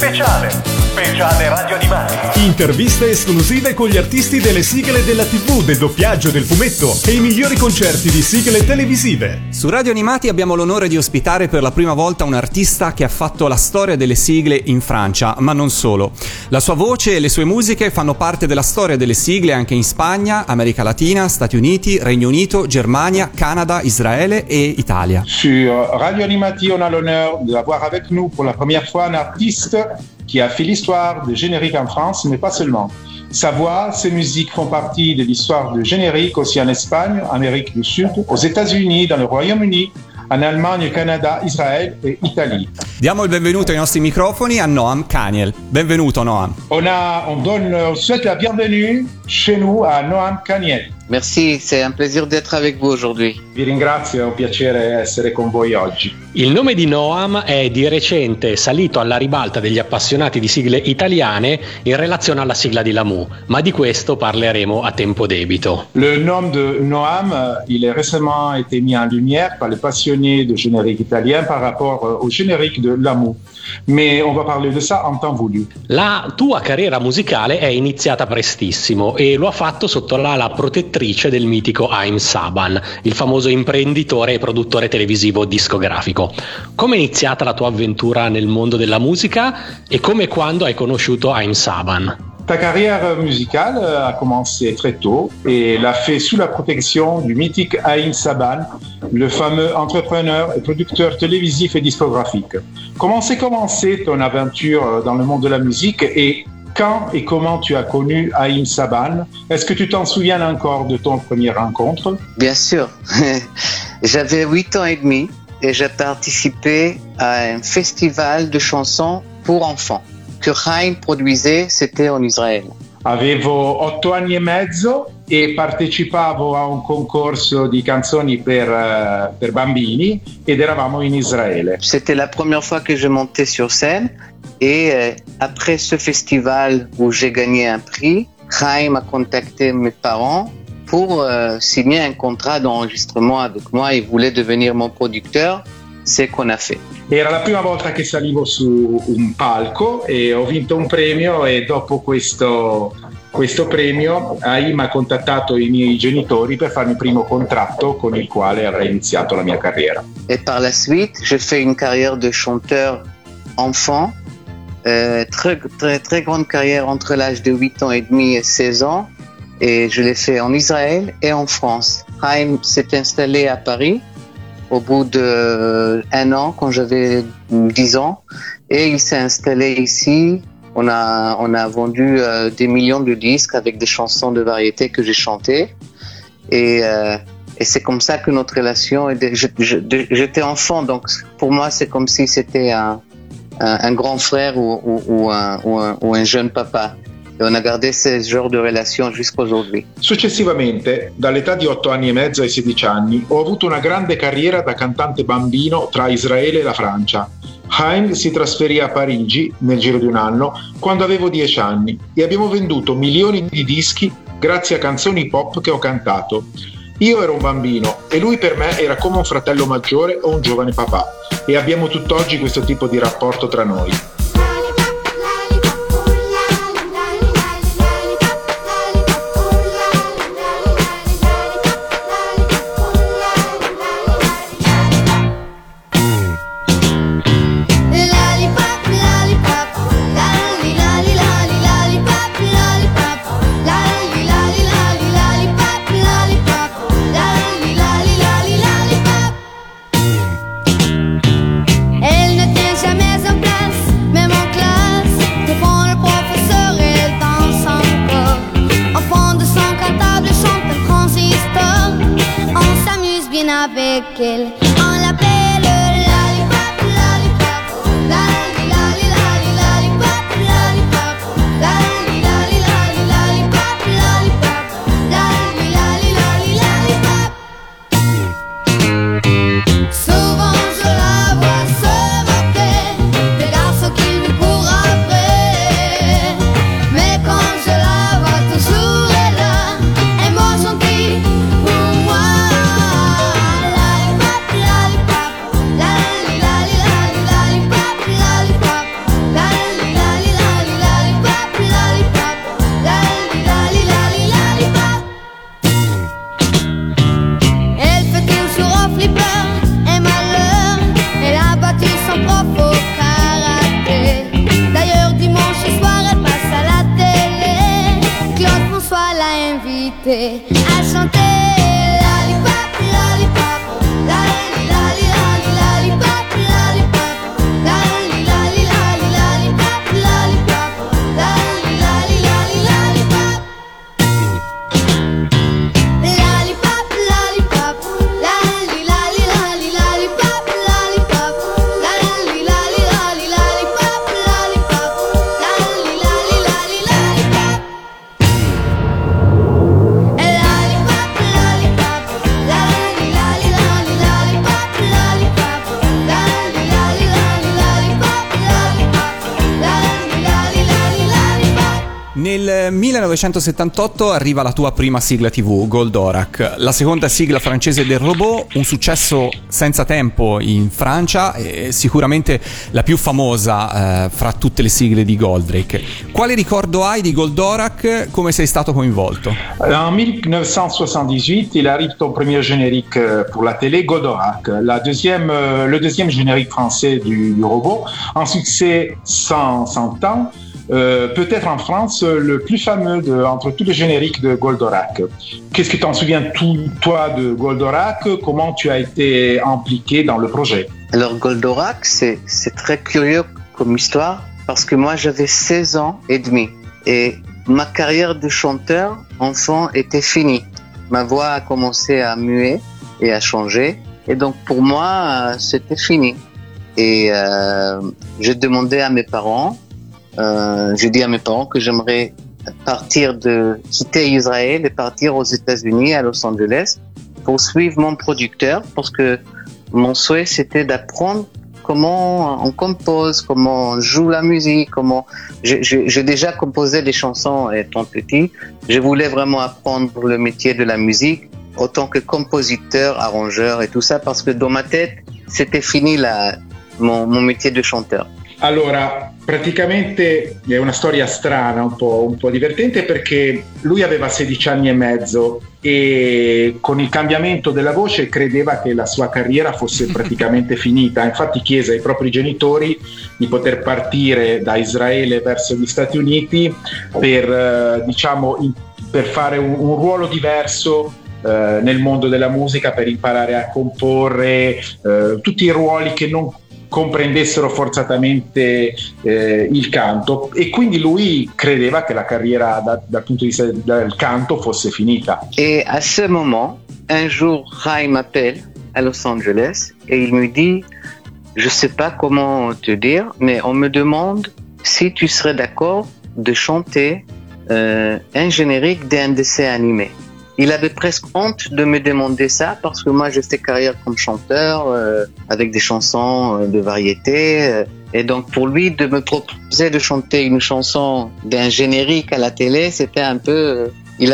Speciale Radio Animati. Interviste esclusive con gli artisti delle sigle della TV, del doppiaggio, del fumetto e i migliori concerti di sigle televisive. Su Radio Animati abbiamo l'onore di ospitare per la prima volta un artista che ha fatto la storia delle sigle in Francia, ma non solo. La sua voce e le sue musiche fanno parte della storia delle sigle anche in Spagna, America Latina, Stati Uniti, Regno Unito, Germania, Canada, Israele e Italia. Sur Radio Animati, on a l'honneur d'avoir avec nous pour la première fois un artiste qui a fait l'histoire des génériques en France, mais pas seulement. Sa voix, ses musiques font partie de l'histoire du générique aussi en Espagne, Amérique du Sud, aux États-Unis, dans le Royaume-Uni, en Allemagne, Canada, Israël et Italie. Diamo il benvenuto ai nostri microfoni a Noam Kaniel. Benvenuto Noam. On souhaite la bienvenue chez nous à Noam Kaniel. Merci, c'est un plaisir d'être avec vous aujourd'hui. Vi ringrazio, è un piacere essere con voi oggi. Il nome di Noam è di recente salito alla ribalta degli appassionati di sigle italiane in relazione alla sigla di Lamu, ma di questo parleremo a tempo debito. Le nom de Noam, il est récemment été mis en lumière par les passionnés de générique italien par rapport au générique de Lamu. Mais on va parler de ça en temps voulu. La tua carriera musicale è iniziata prestissimo e lo ha fatto sotto l'ala protettrice del mitico Haim Saban, il famoso imprenditore e produttore televisivo discografico. Come è iniziata la tua avventura nel mondo della musica e come e quando hai conosciuto Haim Saban? Ta carrière musicale a commencé très tôt et l'a fait sous la protection du mythique Haim Saban, le fameux entrepreneur et producteur télévisif et discographique. Comment s'est commencée ton aventure dans le monde de la musique et quand et comment tu as connu Haim Saban? Est-ce que tu t'en souviens encore de ton première rencontre? Bien sûr. J'avais 8 ans et demi et j'ai participé à un festival de chansons pour enfants que Haim produisait, c'était en Israël. Avevo 8 anni e mezzo e partecipavo a un concorso di canzoni per bambini ed eravamo in Israele. C'était la première fois que je montais sur scène et après ce festival où j'ai gagné un prix, Haim a contacté mes parents pour signer un contrat d'enregistrement avec moi. Il voulait devenir mon producteur. C'est qu'on a fait. Era la prima volta che salivo su un palco e ho vinto un premio e dopo questo premio Haim ha contattato i miei genitori per farmi il primo contratto con il quale avrei iniziato la mia carriera. Et par la suite, j'ai fait une carrière de chanteur enfant, très grande carrière entre l'âge de 8 ans et demi et 16 ans et je l'ai fait en Israël et en France. Haim s'est installé à Paris au bout d'1 an, quand j'avais 10 ans, et il s'est installé ici. On a vendu des millions de disques avec des chansons de variété que j'ai chantées, et c'est comme ça que notre relation. J'étais enfant, donc pour moi c'est comme si c'était un grand frère ou un jeune papa. E on a gardé ce genre de relation jusqu'à aujourd'hui. Successivamente, dall'età di 8 anni e mezzo ai 16 anni, ho avuto una grande carriera da cantante bambino tra Israele e la Francia. Haim si trasferì a Parigi nel giro di un anno quando avevo 10 anni e abbiamo venduto milioni di dischi grazie a canzoni pop che ho cantato. Io ero un bambino e lui per me era come un fratello maggiore o un giovane papà e abbiamo tutt'oggi questo tipo di rapporto tra noi. avec elle. On l'appelle lollipop, lollipop, lolli, lolli, lolli, lollipop, lollipop, lolli, lolli, lolli, lollipop, lollipop, lolli, lolli, lolli, lollipop. Souvent je la vois se moquer des garçons qui lui courent après, mais quand je la vois toujours elle a un mot gentil pour moi. Lollipop, et à chanter lollipop, lollipop, lali lali lali lollipop, lollipop, lali lali lali lollipop, lollipop, lali lali lali lollipop. Lollipop, lollipop, lali lali lali lollipop, lollipop, lali lali lali lollipop, lollipop, lali lali lali lollipop. Lollipop, lollipop, lali lali lali lollipop, lollipop, lali lali lali lollipop, lollipop, lali lali lali lollipop. Nel 1978 arriva la tua prima sigla TV, Goldorak, la seconda sigla francese del robot, un successo senza tempo in Francia e sicuramente la più famosa fra tutte le sigle di Goldrake. Quale ricordo hai di Goldorak? Come sei stato coinvolto? En 1978, il arrive ton premier générique pour la télé, Goldorak, le deuxième générique français du robot, un succès sans temps. Peut-être en France le plus fameux entre tous les génériques de Goldorak. Qu'est-ce que tu en souviens toi de Goldorak? Comment tu as été impliqué dans le projet? Alors Goldorak, c'est très curieux comme histoire parce que moi j'avais 16 ans et demi et ma carrière de chanteur enfant était finie. Ma voix a commencé à muer et à changer et donc pour moi c'était fini. Et j'ai demandé à mes parents, j'ai dit à mes parents que j'aimerais quitter Israël et partir aux États-Unis, à Los Angeles, pour suivre mon producteur, parce que mon souhait c'était d'apprendre comment on compose, comment on joue la musique, j'ai déjà composé des chansons étant petit. Je voulais vraiment apprendre le métier de la musique autant que compositeur, arrangeur et tout ça, parce que dans ma tête c'était fini mon métier de chanteur. Allora, praticamente è una storia strana, un po' divertente, perché lui aveva 16 anni e mezzo e con il cambiamento della voce credeva che la sua carriera fosse praticamente finita. Infatti chiese ai propri genitori di poter partire da Israele verso gli Stati Uniti per fare un ruolo diverso nel mondo della musica, per imparare a comporre tutti i ruoli che non comprendessero forzatamente il canto, e quindi lui credeva che la carriera dal punto di vista del canto fosse finita. Et à ce moment, un jour, Rai m'appelle à Los Angeles et il me dit, je sais pas comment te dire, mais on me demande si tu serais d'accord de chanter un générique d'un dessin animé. Il avait presque honte de me demander ça parce que moi j'ai fait carrière comme chanteur avec des chansons de variété et donc pour lui de me proposer de chanter une chanson d'un générique à la télé, c'était un peu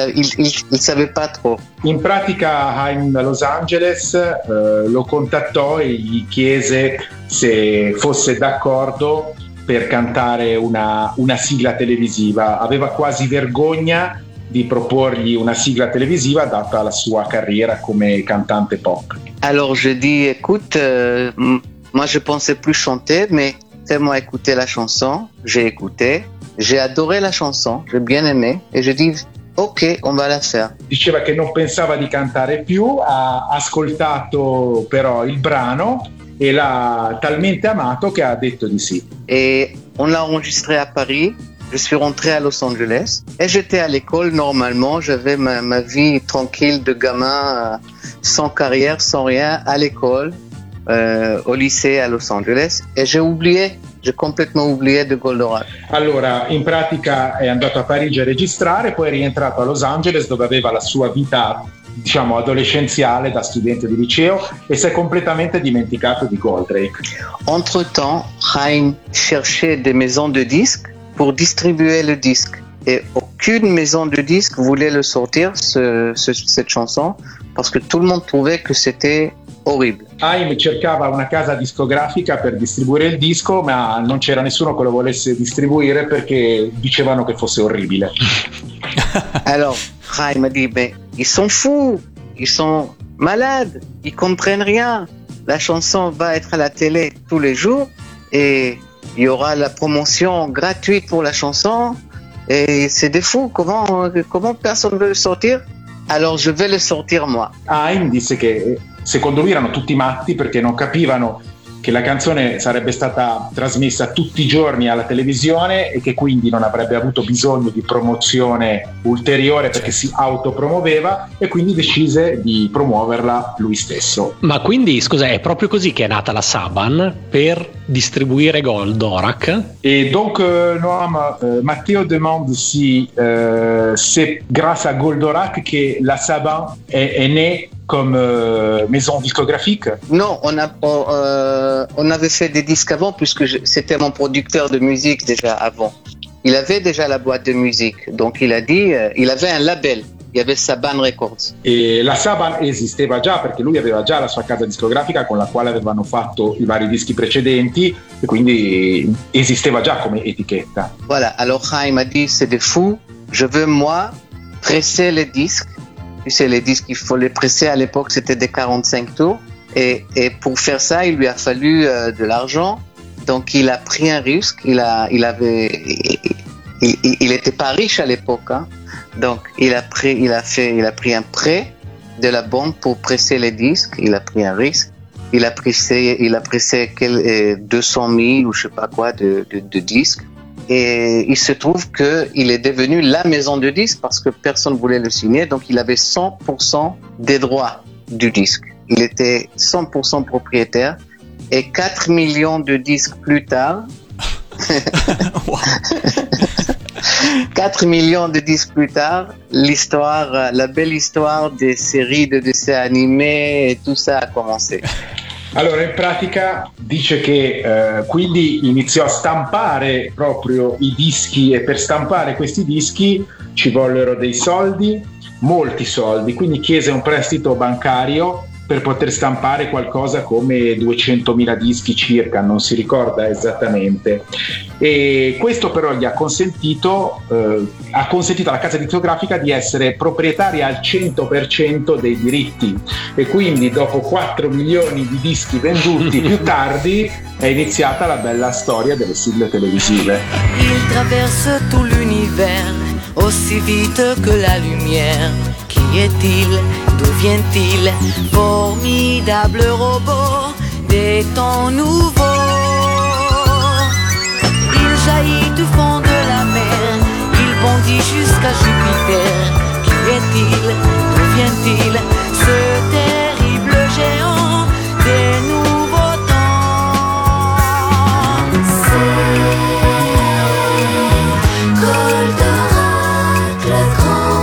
il savait pas trop. In pratica Haim da Los Angeles lo contattò e gli chiese se fosse d'accordo per cantare una sigla televisiva. Aveva quasi vergogna di proporgli una sigla televisiva data la sua carriera come cantante pop. Alors je dis écoute, moi je pensais plus chanter, mais fais-moi écouter la chanson. J'ai écouté, j'ai adoré la chanson, j'ai bien aimé et je dis ok, on va la faire. Diceva che non pensava di cantare più, ha ascoltato però il brano e l'ha talmente amato che ha detto di sì. Et on l'a enregistré à Paris. Je suis rentré à Los Angeles et j'étais à l'école normalement. J'avais ma vie tranquille de gamin, sans carrière, sans rien, à l'école, au lycée à Los Angeles. Et j'ai complètement oublié de Goldorak. Allora, in pratica è andato a Parigi a registrare, poi è rientrato a Los Angeles dove aveva la sua vita, diciamo, adolescenziale da studente di liceo e si è completamente dimenticato di Goldrake. Entre-temps, Haim cherchait des maisons de disques pour distribuer le disque. Et aucune maison de disques voulait le sortir, cette chanson, parce que tout le monde trouvait que c'était horrible. Haim cercava una casa discografica per distribuire il disco, ma non c'era nessuno che lo volesse distribuire perché dicevano che fosse orribile. Alors, Haim m'a dit, mais ils sont fous, ils sont malades, ils comprennent rien. La chanson va être à la télé tous les jours et il y aura la promotion gratuite pour la chanson et c'est des fous. Comment personne veut le sortir? Alors je vais le sortir moi. Haim disse che secondo lui erano tutti matti perché non capivano che la canzone sarebbe stata trasmessa tutti i giorni alla televisione e che quindi non avrebbe avuto bisogno di promozione ulteriore perché si autopromuoveva, e quindi decise di promuoverla lui stesso. Ma quindi, scusa, è proprio così che è nata la Saban, per distribuire Goldorak? Et donc, Noam, Matteo demande si c'est grâce à Goldorak que la Saban est née comme maison discographique. Non, on avait fait des disques avant puisque c'était mon producteur de musique déjà avant. Il avait déjà la boîte de musique, donc il a dit, il avait un label. Il y avait Saban Records. E la Saban esisteva già perché lui aveva già la sua casa discografica con la quale avevano fatto i vari dischi precedenti e quindi esisteva già come etichetta. Voilà, alors Haim a dit c'est des fous, je veux moi presser les disques. Tu sais, les disques, il faut les presser, à l'époque c'était des 45 tours et pour faire ça il lui a fallu de l'argent, donc il a pris un risque, il était pas riche à l'époque, hein. Donc il a pris un prêt de la banque pour presser les disques. Il a pris un risque. Il a pressé 200 000 ou je sais pas quoi de disques. Et il se trouve que il est devenu la maison de disques parce que personne voulait le signer. Donc il avait 100% des droits du disque. Il était 100% propriétaire. Et 4 millions de disques plus tard. 4 millions de disques plus tard, la belle histoire des séries de dessins animés e tout ça a commencé. Allora, in pratica dice che quindi iniziò a stampare proprio i dischi e per stampare questi dischi ci vollero dei soldi, molti soldi, quindi chiese un prestito bancario per poter stampare qualcosa come 200.000 dischi circa, non si ricorda esattamente. E questo però gli ha consentito alla casa discografica di essere proprietaria al 100% dei diritti, e quindi dopo 4 milioni di dischi venduti più tardi è iniziata la bella storia delle sigle televisive. Il traverse tout l'univers aussi vite que la lumière. Qui est-il? D'où vient-il? Formidable robot des temps nouveaux. Il jaillit du fond de la mer, il bondit jusqu'à Jupiter. Qui est-il? D'où vient-il? Ce terrible géant des nouveaux temps. C'est Goldorak le grand.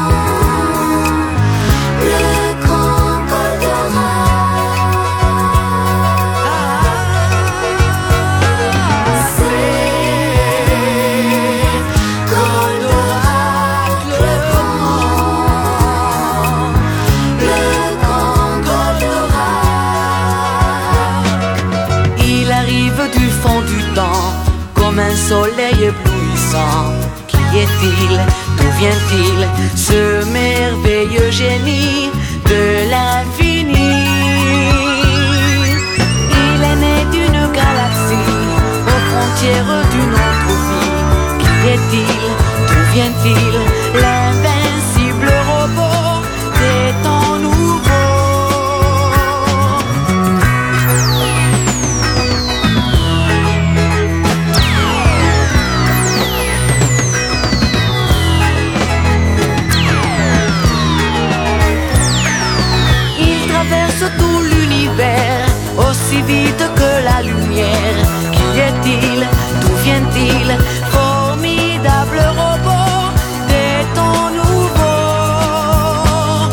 Un soleil éblouissant. Qui est-il? D'où vient-il? Ce merveilleux génie de l'infini. Il est né d'une galaxie aux frontières d'une autre vie. Qui est-il? D'où vient-il? L'invincible robot des temps nouveaux. Tout l'univers aussi vite que la lumière. Qui est-il? D'où vient-il? Formidable robot des temps nouveaux.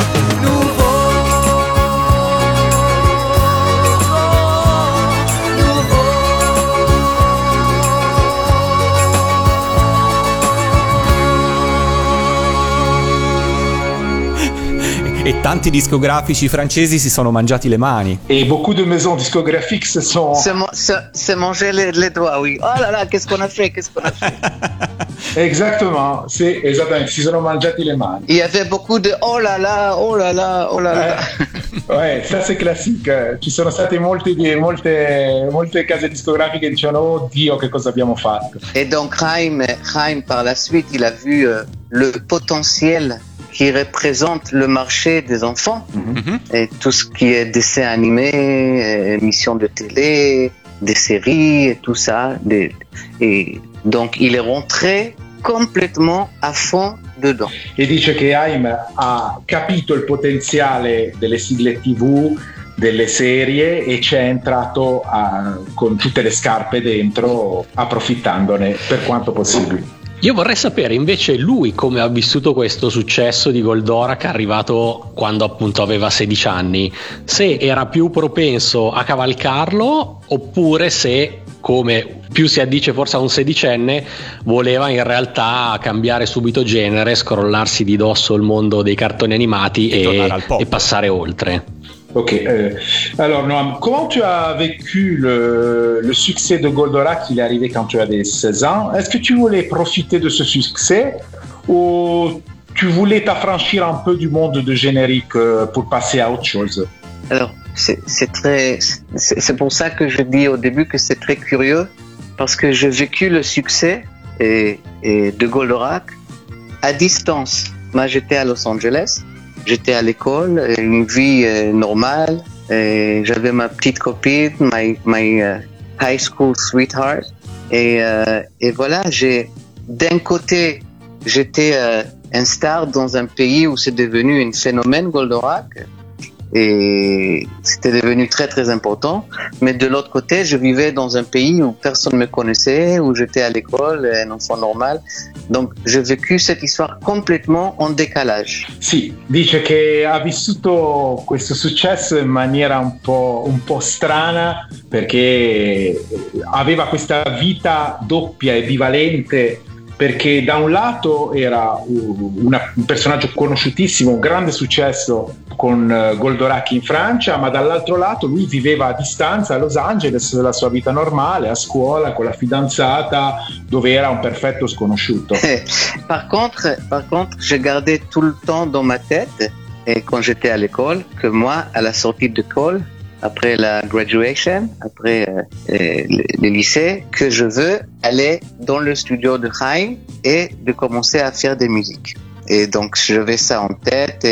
E tanti discografici francesi si sono mangiati le mani. Et beaucoup de maisons discographiques se sont... C'est manger les doigts, oui. Oh là là, qu'est-ce qu'on a fait? Exactement, sì, esattamente, si sono mangiati le mani. Il y avait beaucoup de oh là là, oh là là, oh là là. Ouais, ça c'est classique. Ci sono state molte case discografiche che dicevano oh Dio, che cosa abbiamo fatto. Et donc Haim par la suite, il a vu le potentiel qui représente le marché des enfants et tout ce qui est dessin animé, émissions de télé, des séries et tout ça. Et donc il est rentré completamente a fond dedans. E dice che Haim ha capito il potenziale delle sigle TV, delle serie, e ci è entrato con tutte le scarpe dentro, approfittandone per quanto possibile. Io vorrei sapere invece lui come ha vissuto questo successo di Goldorak arrivato quando appunto aveva 16 anni, se era più propenso a cavalcarlo oppure se, come più si addice forse a un sedicenne, voleva in realtà cambiare subito genere, scrollarsi di dosso il mondo dei cartoni animati e passare oltre. Ok, alors Noam, comment tu as vécu le succès de Goldorak? Il est arrivé quand tu avais 16 ans. Est-ce que tu voulais profiter de ce succès ou tu voulais t'affranchir un peu du monde de générique pour passer à autre chose? Alors, c'est pour ça que je dis au début que c'est très curieux, parce que j'ai vécu le succès et de Goldorak à distance. Moi, j'étais à Los Angeles. J'étais à l'école, une vie normale. J'avais ma petite copine, my high school sweetheart. Et voilà, d'un côté, j'étais un star dans un pays où c'est devenu un phénomène Goldorak. Et c'était devenu très très important. Mais de l'autre côté, je vivais dans un pays où personne ne me connaissait, où j'étais à l'école, un enfant normal. Donc j'ai vécu cette histoire complètement en décalage. Sì, dice che ha vissuto questo successo in maniera un po' strana, perché aveva questa vita doppia e bivalente, perché da un lato era un personaggio conosciutissimo, un grande successo con Goldorak in Francia, ma dall'altro lato lui viveva a distanza a Los Angeles la sua vita normale, a scuola, con la fidanzata, dove era un perfetto sconosciuto. Par contre, j'ai gardé tout le temps dans ma tête, et quand j'étais à l'école, que moi, à la sortie d'école, après la graduation, après le lycée, que je veux aller dans le studio de Haim et de commencer à faire des musiques. Et donc j'avais ça en tête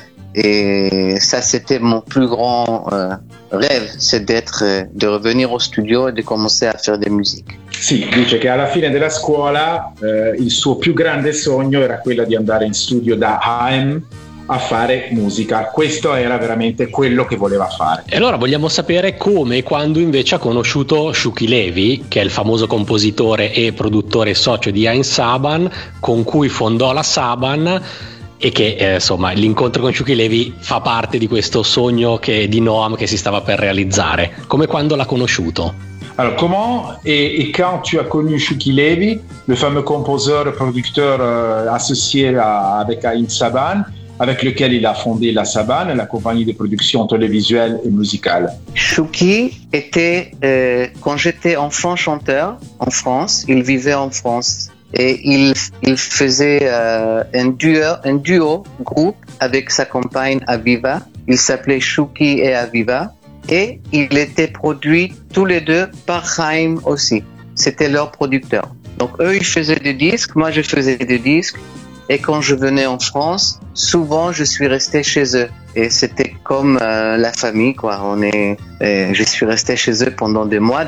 et ça c'était mon plus grand rêve, c'est de revenir au studio et de commencer à faire des musiques. Sì, dice che alla fine della scuola il suo più grande sogno era quello di andare in studio da Haim a fare musica. Questo era veramente quello che voleva fare. E allora vogliamo sapere come e quando invece ha conosciuto Shuki Levy, che è il famoso compositore e produttore socio di Haim Saban, con cui fondò la Saban, e che insomma l'incontro con Shuki Levy fa parte di questo sogno di Noam che si stava per realizzare. Come quando l'ha conosciuto? Alors comment et quand tu as connu Shuki Levy, le fameux compositeur et producteur associé avec Haim Saban, avec lequel il a fondé la Saban, la compagnie de production télévisuelle et musicale? Shuki était, quand j'étais enfant chanteur en France, il vivait en France et il faisait un duo groupe avec sa compagne Aviva. Il s'appelait Shuki et Aviva et il était produit tous les deux par Haim aussi. C'était leur producteur. Donc eux ils faisaient des disques, moi je faisais des disques. Et quand je venais en France, souvent je suis resté chez eux. Et c'était comme la famille, quoi. Je suis resté chez eux pendant des mois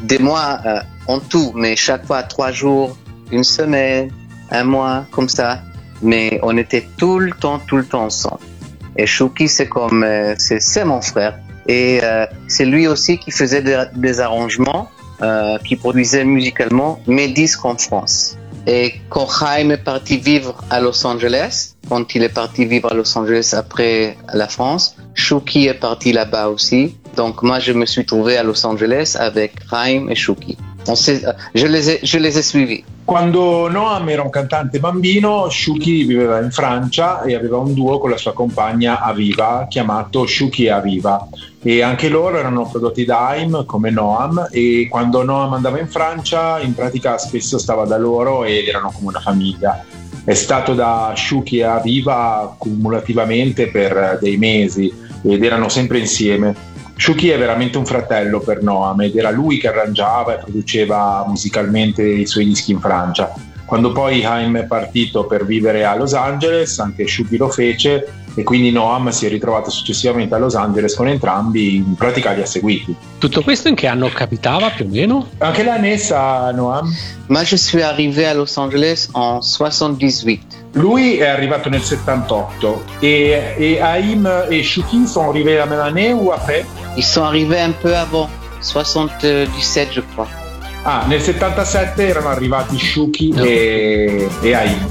en tout, mais chaque fois 3 jours, 1 semaine, 1 mois, comme ça. Mais on était tout le temps ensemble. Et Shuki, c'est mon frère. Et c'est lui aussi qui faisait des arrangements, qui produisait musicalement mes disques en France. Et quand Haim est parti vivre à Los Angeles, quand il est parti vivre à Los Angeles après la France, Shuki est parti là-bas aussi. Donc moi, je me suis trouvé à Los Angeles avec Haim et Shuki. Je les ai suivis. Quando Noam era un cantante bambino, Shuki viveva in Francia e aveva un duo con la sua compagna Aviva chiamato Shuki e Aviva, e anche loro erano prodotti da Haim come Noam, e quando Noam andava in Francia in pratica spesso stava da loro ed erano come una famiglia. È stato da Shuki e Aviva cumulativamente per dei mesi ed erano sempre insieme. Shuki è veramente un fratello per Noam ed era lui che arrangiava e produceva musicalmente i suoi dischi in Francia. Quando poi Haim è partito per vivere a Los Angeles, anche Shuki lo fece, e quindi Noam si è ritrovato successivamente a Los Angeles con entrambi, in pratica li ha seguiti. Tutto questo in che anno capitava più o meno? Anche l'année sa Noam? Moi, je suis arrivé à Los Angeles en 78. Lui è arrivato nel 78 et Haim et Shuki sont arrivés la même année ou après? Ils sont arrivés un peu avant, 77 je crois. Ah, nel 77 erano arrivati Shuki e Haim.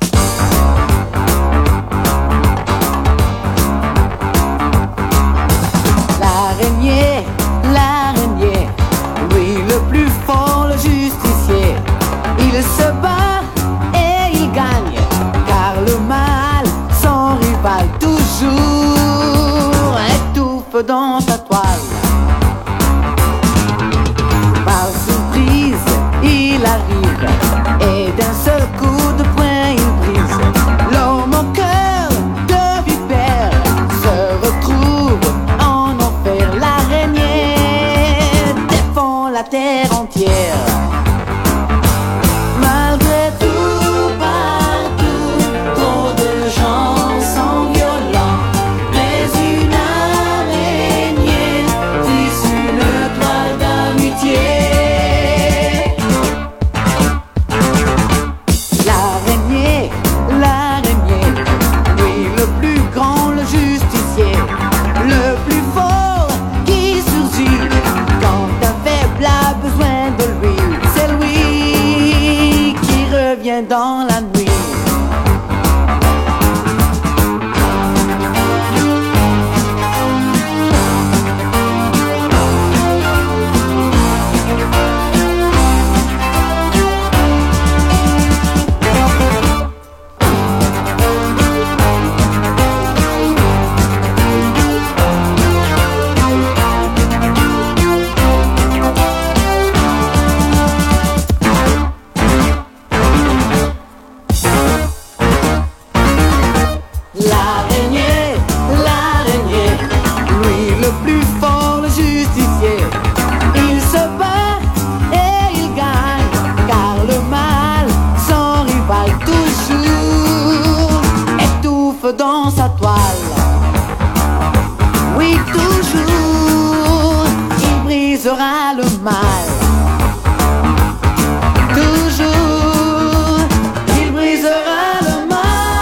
L'araignée, lui le plus fort, le justicier. Il se bat et il gagne, car le mal, son rival, toujours étouffe dans sa toile. Par surprise, il arrive, et d'un seul coup de poing, il brise. L'homme au cœur de vipère se retrouve en enfer. L'araignée défend la terre entière. Malgré tout, partout, trop de gens sont violents. Mais une araignée tisse une toile d'amitié. L'araignée, lui le plus grand, le justicier, le plus fort qui surgit quand un faible a besoin de lui. C'est lui qui revient dans la nuit. L'araignée, lui le plus fort, le justicier. Il se bat et il gagne, car le mal, son rival, toujours étouffe dans sa toile. Oui, toujours, il brisera le mal. Toujours, il brisera le mal.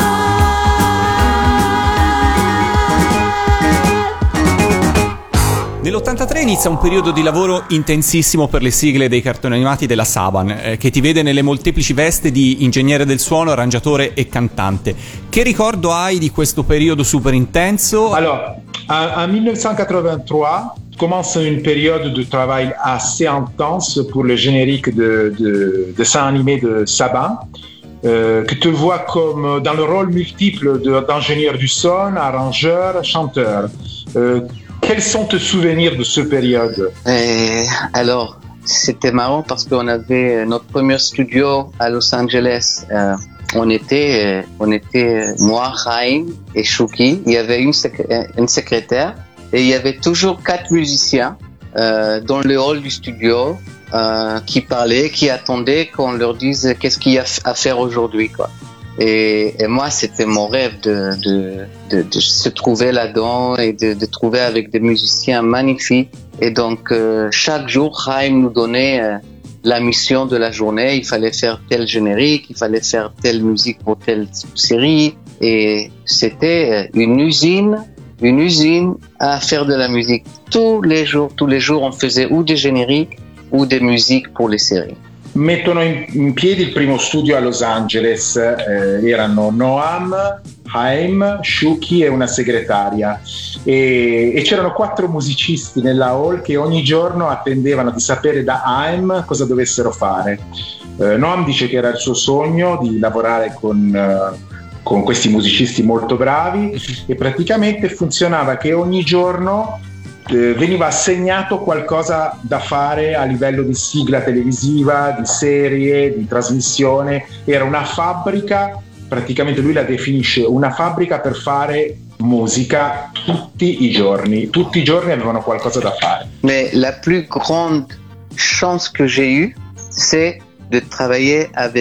Nell'83 inizia un periodo di lavoro intensissimo per le sigle dei cartoni animati della Saban, che ti vede nelle molteplici vesti di ingegnere del suono, arrangiatore e cantante. Che ricordo hai di questo periodo super intenso? Alors, en 1983, commence une période de travail assez intense pour le générique de dessin animé de Saban, que tu vois comme dans le rôle multiple d'ingénieur du son, arrangeur, chanteur. Quels sont tes souvenirs de cette période? Alors, c'était marrant parce qu'on avait notre premier studio à Los Angeles. On était moi, Haim et Shuki. Il y avait une secrétaire et il y avait toujours 4 musiciens dans le hall du studio qui parlaient, qui attendaient qu'on leur dise qu'est-ce qu'il y a à faire aujourd'hui, quoi. Et moi, c'était mon rêve de se trouver là-dedans et de trouver avec des musiciens magnifiques. Et donc, chaque jour, Haim nous donnait la mission de la journée. Il fallait faire tel générique, il fallait faire telle musique pour telle série. Et c'était une usine à faire de la musique. Tous les jours, on faisait ou des génériques ou des musiques pour les séries. Mettono in piedi il primo studio a Los Angeles, erano Noam, Haim, Shuki e una segretaria e c'erano 4 musicisti nella hall che ogni giorno attendevano di sapere da Haim cosa dovessero fare. Noam dice che era il suo sogno di lavorare con questi musicisti molto bravi e praticamente funzionava che ogni giorno veniva assegnato qualcosa da fare a livello di sigla televisiva, di serie, di trasmissione. Era una fabbrica, praticamente lui la definisce una fabbrica per fare musica tutti i giorni avevano qualcosa da fare. Mais la plus grande chance que j'ai eue, c'est de travailler avec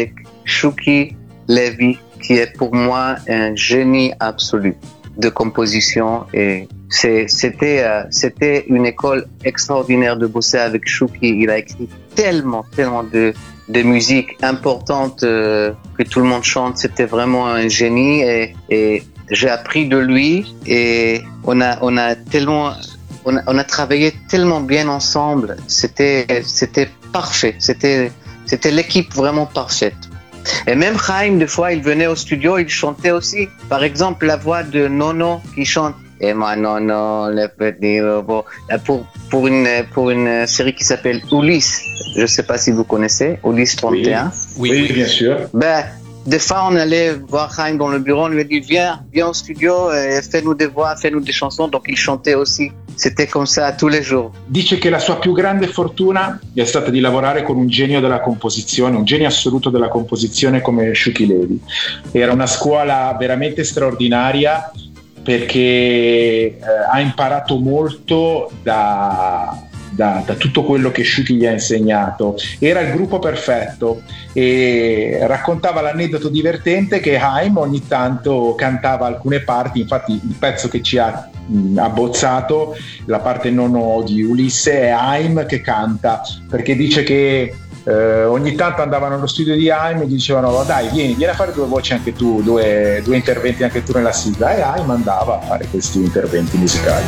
Shuki Levy, qui est pour moi un génie absolu de composition, et c'était une école extraordinaire de bosser avec Shuki. Il a écrit tellement de musique importante que tout le monde chante. C'était vraiment un génie, et j'ai appris de lui, et on a travaillé tellement bien ensemble. C'était parfait. C'était l'équipe vraiment parfaite. Et même Chaim, des fois, il venait au studio, il chantait aussi. Par exemple, la voix de Nono qui chante « Et moi, Nono, le petit robot », pour une série qui s'appelle Ulysse. Je ne sais pas si vous connaissez, Ulysse 31. Oui, bien sûr. Des fois, on allait voir Chaim dans le bureau, on lui a dit viens au studio e fais-nous des voix, fais-nous des chansons. Donc il chantait aussi. C'était comme ça tous les jours. Dice che la sua più grande fortuna è stata di lavorare con un genio della composizione, un genio assoluto della composizione come Shuki Levy. Era una scuola veramente straordinaria, perché ha imparato molto da tutto quello che Shuki gli ha insegnato. Era il gruppo perfetto, e raccontava l'aneddoto divertente che Chaim ogni tanto cantava alcune parti. Infatti il pezzo che ci ha abbozzato, la parte nono di Ulisse, è Chaim che canta, perché dice che ogni tanto andavano allo studio di Chaim e gli dicevano dai vieni a fare 2 voci anche tu, due interventi anche tu nella sigla, e Chaim andava a fare questi interventi musicali.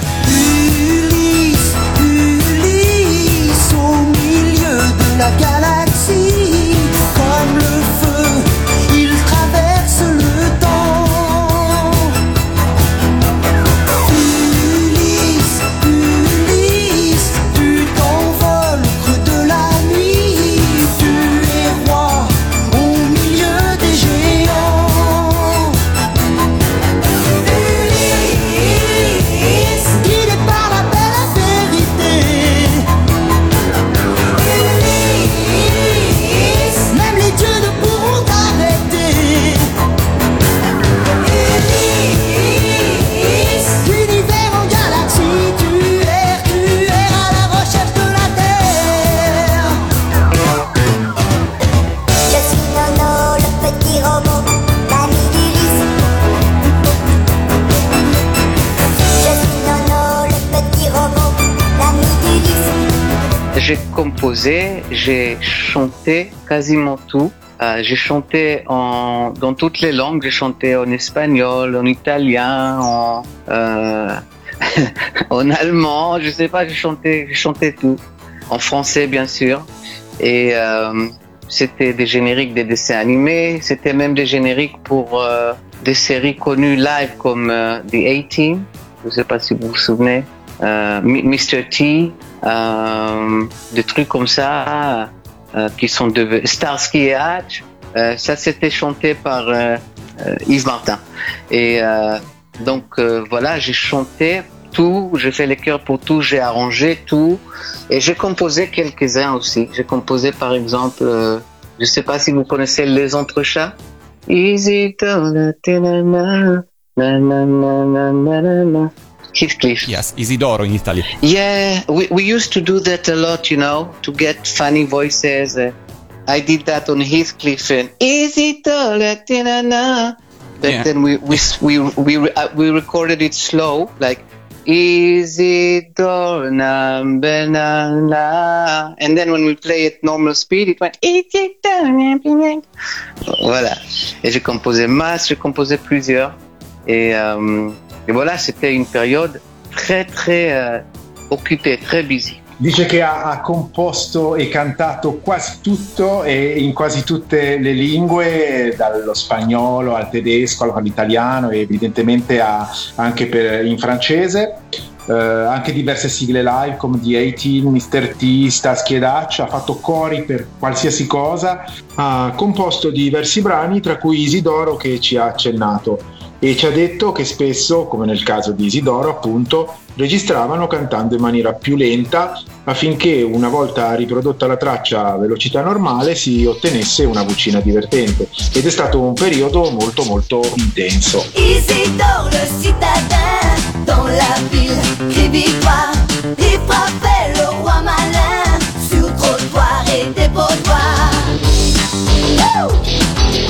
Au milieu de la galaxie, comme le feu, il traverse le temps. Ulysse, Ulysse, tu t'envoles au creux de la nuit, tu es roi au milieu des géants. Ulysse, guidé par la belle vérité. Même les dieux ne pourront t'arrêter. L'univers en galaxie, tu es à la recherche de la terre. Je suis Nono, le petit robot, l'ami d'Ulysse. Je suis Nono, le petit robot, l'ami d'Ulysse. J'ai composé, j'ai chanté quasiment tout. J'ai chanté dans toutes les langues. J'ai chanté en espagnol, en italien, en allemand. Je sais pas, j'ai chanté tout. En français, bien sûr. Et c'était des génériques des dessins animés. C'était même des génériques pour des séries connues live comme The A-Team. Je sais pas si vous vous souvenez. Mr. T, des trucs comme ça qui sont de Starsky et Hutch. Ça c'était chanté par Yves Martin. Et donc voilà, j'ai chanté tout, j'ai fait les chœurs pour tout, j'ai arrangé tout, et j'ai composé quelques-uns aussi. J'ai composé par exemple, je sais pas si vous connaissez Les Entrechats. Easy to Heathcliff. Yes, Isidoro in Italy. Yeah, we used to do that a lot, to get funny voices. I did that on Heathcliff and Easy to But Yeah. then we recorded it slow, like Easy to and then when we play it normal speed, it went Easy to. Voilà. Et j'ai composé plusieurs. Et voilà, c'était une période très occupée, très busy. Dice che ha composto e cantato quasi tutto, e in quasi tutte le lingue, dallo spagnolo al tedesco all'italiano, e evidentemente anche in francese. Anche diverse sigle live come The A-Team, Mr. T, Starsky ed Hutch. Ha fatto cori per qualsiasi cosa. Ha composto diversi brani, tra cui Isidoro, che ci ha accennato, e ci ha detto che spesso, come nel caso di Isidoro appunto, registravano cantando in maniera più lenta, affinché una volta riprodotta la traccia a velocità normale si ottenesse una vocina divertente, ed è stato un periodo molto intenso. Isidore le citadin, dans la ville qui vivra, il frappait le roi malin, sur trottoir et dépotoir.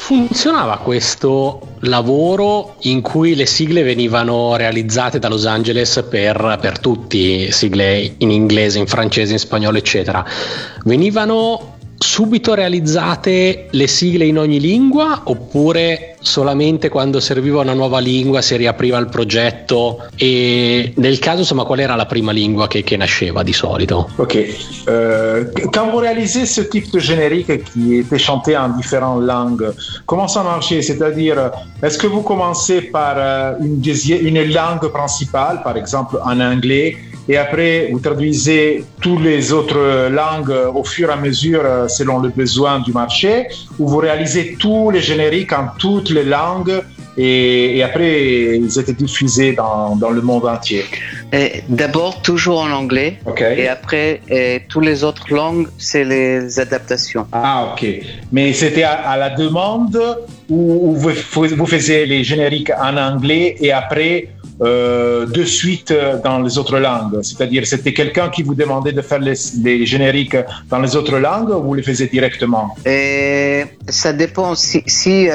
funzionava questo lavoro in cui le sigle venivano realizzate da Los Angeles per tutti, sigle in inglese, in francese, in spagnolo, eccetera? Venivano subito realizzate le sigle in ogni lingua, oppure solamente quando serviva una nuova lingua si riapriva il progetto? E nel caso, insomma, qual era la prima lingua che nasceva di solito? Ok, quand vous réalisez ce type de générique qui était chanté en différentes langues, comment ça marchait? C'est-à-dire, est-ce que vous commencez par une langue principale, par exemple en anglais, et après vous traduisez toutes les autres langues au fur et à mesure selon le besoin du marché, ou vous réalisez tous les génériques en toutes les langues et après ils étaient diffusés dans le monde entier? D'abord toujours en anglais, okay. Et après toutes les autres langues, c'est les adaptations. Ah ok, mais c'était à la demande ou vous faisiez les génériques en anglais et après de suite dans les autres langues? C'est-à-dire, c'était quelqu'un qui vous demandait de faire les génériques dans les autres langues ou vous les faisiez directement? Ça dépend. Si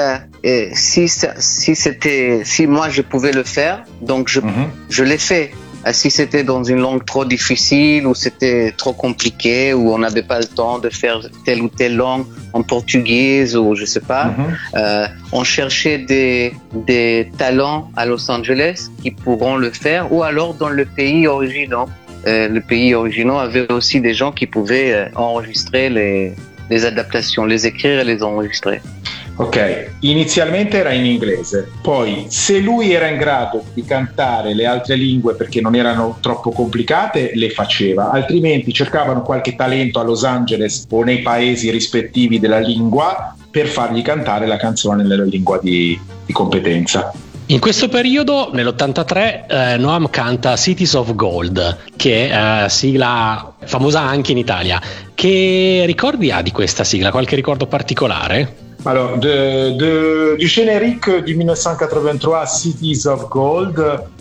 moi je pouvais le faire, donc je l'ai fait. Si c'était dans une langue trop difficile ou c'était trop compliqué ou on n'avait pas le temps de faire telle ou telle langue en portugais ou je sais pas, on cherchait des talents à Los Angeles qui pourront le faire, ou alors dans le pays original. Le pays original avait aussi des gens qui pouvaient enregistrer les adaptations, les écrire et les enregistrer. Ok, inizialmente era in inglese, poi se lui era in grado di cantare le altre lingue perché non erano troppo complicate, le faceva, altrimenti cercavano qualche talento a Los Angeles o nei paesi rispettivi della lingua per fargli cantare la canzone nella lingua di competenza. In questo periodo, nell'83, Noam canta Cities of Gold, che è sigla famosa anche in Italia. Che ricordi ha di questa sigla? Qualche ricordo particolare? Alors, du générique du 1983 Cities of Gold,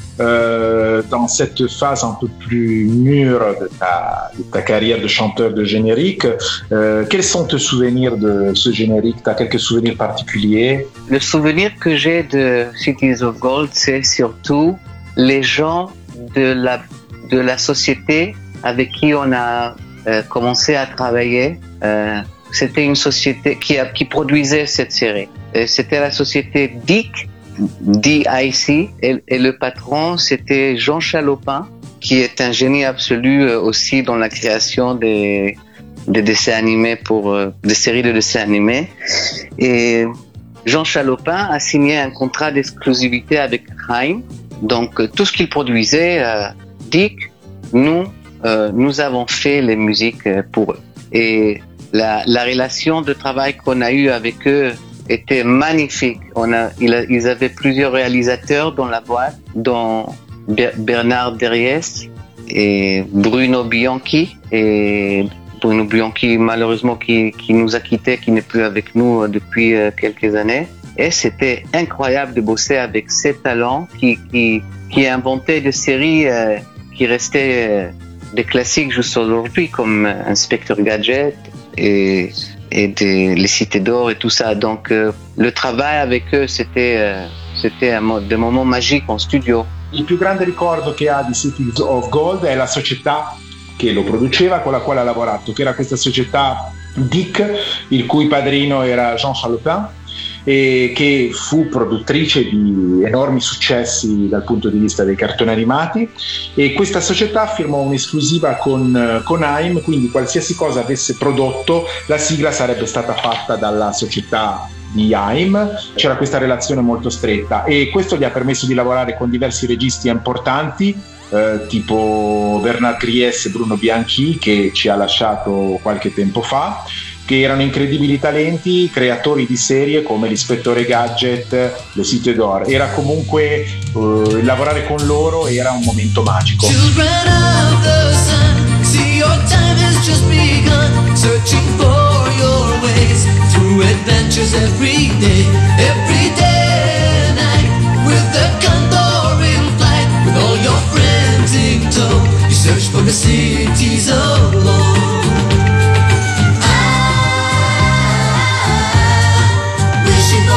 dans cette phase un peu plus mûre de ta carrière de chanteur de générique, quels sont tes souvenirs de ce générique? Tu as quelques souvenirs particuliers? Le souvenir que j'ai de Cities of Gold, c'est surtout les gens de la société avec qui on a commencé à travailler. C'était une société qui produisait cette série. C'était la société DIC, DIC, et le patron, c'était Jean Chalopin, qui est un génie absolu aussi dans la création des dessins animés des séries de dessins animés. Et Jean Chalopin a signé un contrat d'exclusivité avec Haim. Donc, tout ce qu'il produisait, DIC, nous avons fait les musiques pour eux. Et la relation de travail qu'on a eue avec eux était magnifique. Ils avaient plusieurs réalisateurs dans la boîte, dont Bernard Derriès et Bruno Bianchi. Et Bruno Bianchi, malheureusement, qui nous a quittés, qui n'est plus avec nous depuis quelques années. Et c'était incroyable de bosser avec ces talents qui inventaient des séries qui restaient des classiques jusqu'à aujourd'hui, comme Inspecteur Gadget et les Cités d'Or et tout ça. Donc le travail avec eux, c'était des moments magiques en studio. Il più grande ricordo che ha di Cities of Gold è la società che lo produceva, con la quale ha lavorato, che era questa società DIC, il cui padrino era Jean Chalopin, e che fu produttrice di enormi successi dal punto di vista dei cartoni animati, e questa società firmò un'esclusiva con Haim, quindi qualsiasi cosa avesse prodotto la sigla sarebbe stata fatta dalla società di Haim. C'era questa relazione molto stretta e questo gli ha permesso di lavorare con diversi registi importanti, tipo Bernard Griess e Bruno Bianchi, che ci ha lasciato qualche tempo fa, che erano incredibili talenti, creatori di serie come l'Ispettore Gadget, le Cités d'Or. Era comunque lavorare con loro era un momento magico. Children of the sun, see your time has just begun, searching for your ways through adventures every day and night, with the condor in flight, with all your friends in tow, you search for the cities of gold. Wishing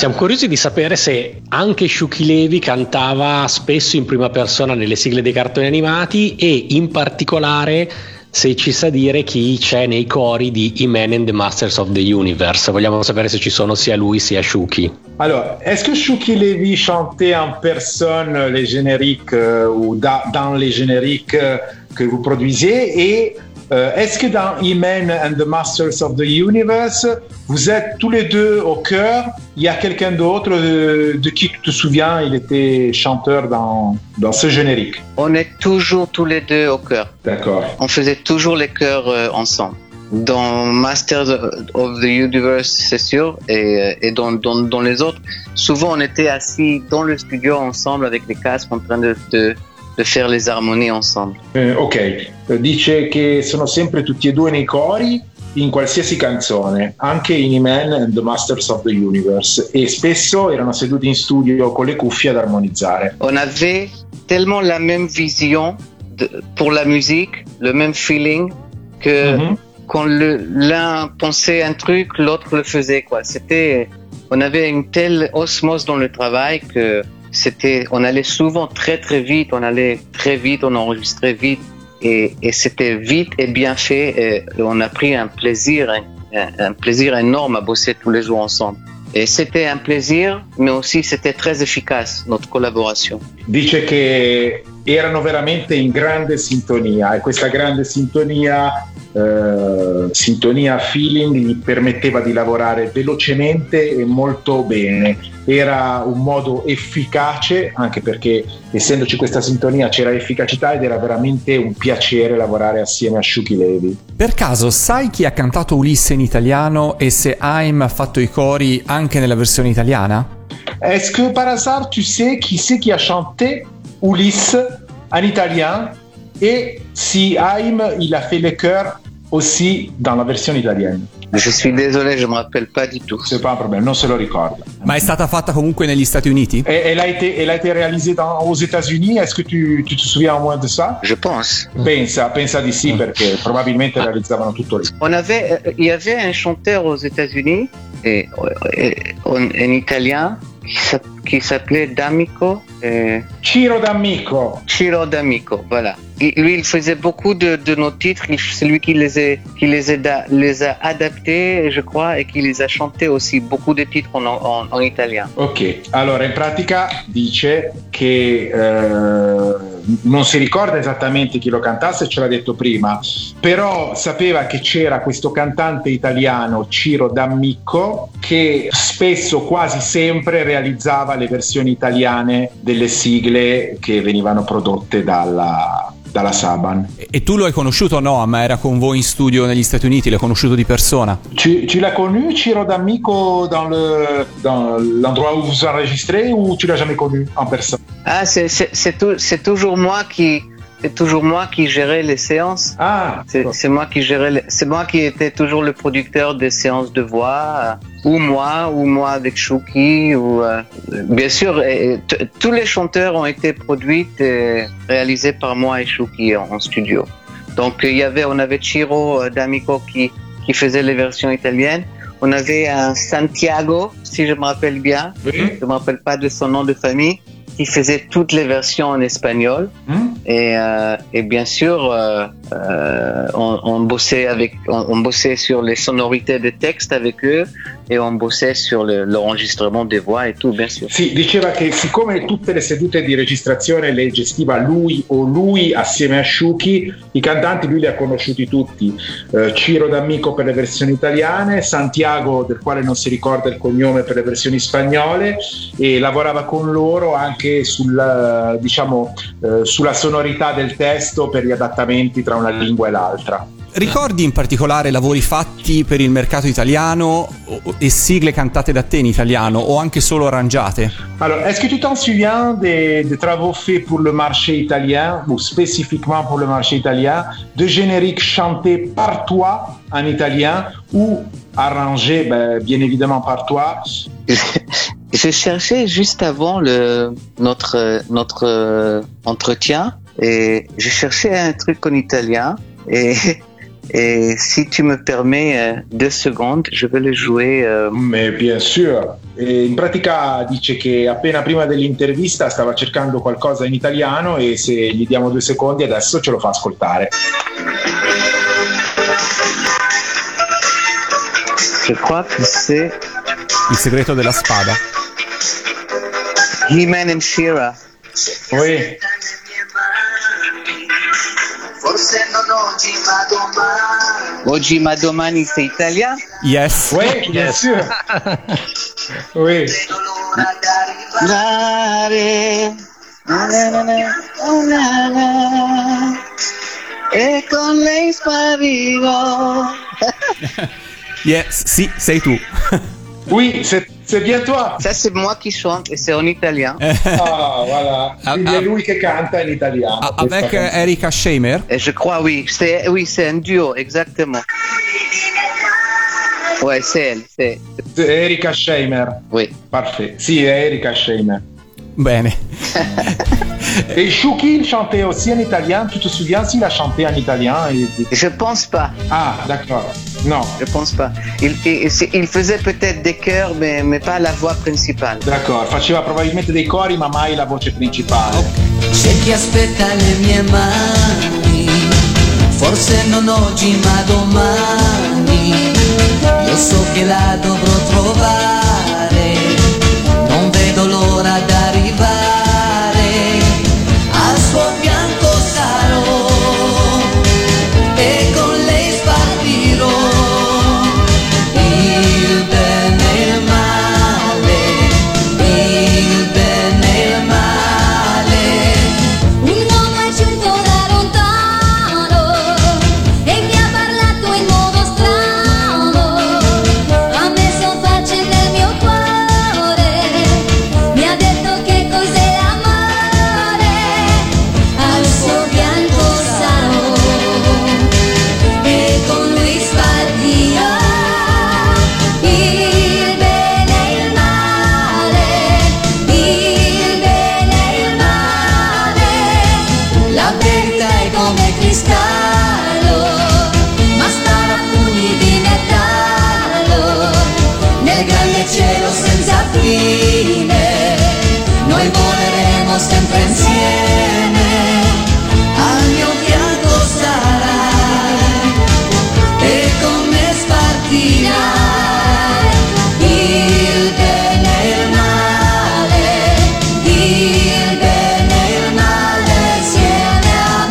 Siamo curiosi di sapere se anche Shuki Levy cantava spesso in prima persona nelle sigle dei cartoni animati e in particolare se ci sa dire chi c'è nei cori di He-Man and the Masters of the Universe. Vogliamo sapere se ci sono sia lui sia Shuki. Alors, est-ce que Shuki Levy chantait en personne les génériques ou dans les génériques que vous produisiez et est-ce que dans He-Man and the Masters of the Universe, vous êtes tous les deux au chœur? Il y a quelqu'un d'autre de qui tu te souviens, il était chanteur dans ce générique? On est toujours tous les deux au chœur. D'accord. On faisait toujours les chœurs ensemble. Dans Masters of the Universe, c'est sûr, et dans les autres, souvent on était assis dans le studio ensemble avec les casques en train de faire les armonies ensemble. Ok, dice che sono sempre tutti e due nei cori in qualsiasi canzone, anche in He-Man and the Masters of the Universe, e spesso erano seduti in studio con le cuffie ad armonizzare. On avait tellement la même vision pour la musique, le même feeling, que quand l'un pensait un truc, l'autre le faisait, quoi. On avait une telle osmose dans le travail que on allait souvent très très vite, on enregistrait vite et c'était vite et bien fait et on a pris un plaisir énorme à bosser tous les jours ensemble. Et c'était un plaisir, mais aussi c'était très efficace notre collaboration. Dice che erano veramente in grande sintonia e questa grande sintonia feeling gli permetteva di lavorare velocemente e molto bene. Era un modo efficace, anche perché essendoci questa sintonia c'era efficacità ed era veramente un piacere lavorare assieme a Shuki Levy. Per caso sai chi ha cantato Ulisse in italiano e se Haim ha fatto i cori anche nella versione italiana? Est-ce que par hasard tu sais qui c'est qui a chanté Ulysse en italien et si Haim il a fait les chœurs aussi dans la version italienne? Je suis désolé, je me rappelle pas du tout. C'est pas un problème, non se lo ricorda. Ma è stata fatta comunque negli Stati Uniti? Elle a été réalisée aux États-Unis. Est-ce que tu te souviens au moins de ça? Je pense. Pensa di sì, perché probabilmente realizzavano tutto lì. Il y avait un chanteur aux États-Unis en italien qui s'appelait D'Amico. Ciro D'Amico. Ciro D'Amico, voilà. Lui, il faisait beaucoup de nos titres. C'est lui qui les a adaptés, je crois, et qui les a chantés aussi, beaucoup de titres en italien. Ok, allora in pratica dice che non si ricorda esattamente chi lo cantasse, ce l'ha detto prima, però sapeva che c'era questo cantante italiano, Ciro D'Amico, che spesso, quasi sempre, realizzava le versioni italiane delle sigle che venivano prodotte dalla Saban. E tu lo hai conosciuto o no? Ma era con voi in studio negli Stati Uniti, l'hai conosciuto di persona? Tu l'as connu, Ciro D'Amico, dans l'endroit où vous enregistrez, ou tu l'as jamais connu en personne? Ah, c'est toujours moi qui gérais les séances. Ah, c'est moi qui étais toujours le producteur des séances de voix, ou moi avec Shuki, bien sûr, tous les chanteurs ont été produits et réalisés par moi et Shuki en studio. Donc on avait Ciro D'Amico qui faisait les versions italiennes. On avait un Santiago, si je me rappelle bien, je me rappelle pas de son nom de famille, qui faisait toutes les versions en espagnol. Et bien sûr, on bossait sur les sonorités des textes avec eux e on bossait sur l'enregistrement des voix e tout, bien sûr. Sì, diceva che siccome tutte le sedute di registrazione le gestiva lui assieme a Shuki, i cantanti lui li ha conosciuti tutti. Ciro D'Amico per le versioni italiane, Santiago del quale non si ricorda il cognome per le versioni spagnole, e lavorava con loro anche sulla sonorità del testo per gli adattamenti tra una lingua e l'altra. Ricordi in particolare lavori fatti per il mercato italiano e sigle cantate da te in italiano o anche solo arrangiate? Alors, est-ce que tu t'en souviens des travaux faits pour le marché italien ou spécifiquement pour le marché italien, de génériques chantés par toi en italien ou arrangés bien évidemment par toi? Je cherchais juste avant notre entretien et je cherchais un truc en italien et Et si tu me permets 2 secondes, je vais le jouer. Mais bien sûr. E in pratica dice che appena prima dell'intervista stava cercando qualcosa in italiano e se gli diamo 2 secondi adesso ce lo fa ascoltare. Je crois que c'est Il segreto della spada. He-Man and She-Ra. Oui. Forse non oggi ma domani. Oggi ma domani, c'est italien? Yes. Oui, bien sûr. Oui. Dare, e con lei sparirò. Yes, sì, sei tu. Oui, c'est bien toi. Ça, c'est moi qui chante et c'est en italien. Ah, voilà. Quindi è lui che canta in italiano. Avec Erika Scheimer. Et je crois, oui, c'est un duo, exactement. Ouais, c'est elle, c'est. Erika Scheimer. Oui. Parfait. Sì, è Erika Scheimer. Bene. Et Chouki chantait aussi en italien. Tu te souviens s'il a chanté en italien? Je pense pas. Ah, d'accord. Non. Je pense pas. Il faisait peut-être des chœurs, mais pas la voix principale. D'accord, faceva probabilmente dei cori ma mai la voce principale. C'è chi aspetta le mie mani, forse non oggi ma domani. Io so che la dovrò trovare, non vedo l'ora d'arrivare. Al suo fianco sarò e con lei spartirò. Il bene e il male, il bene e il male. Un uomo è giunto da lontano e mi ha parlato in modo strano, ha messo pace nel mio cuore, mi ha detto che cos'è l'amore, al suo fianco sarò e con lui spartirò. Il bene e il male, il bene e il male. La verità è come cristallo, ma stare a pugni di metallo, nel grande cielo senza fine, noi voleremo sempre insieme, al mio fianco sarai e con me spartirai. Il bene e il male, il bene e il male insieme a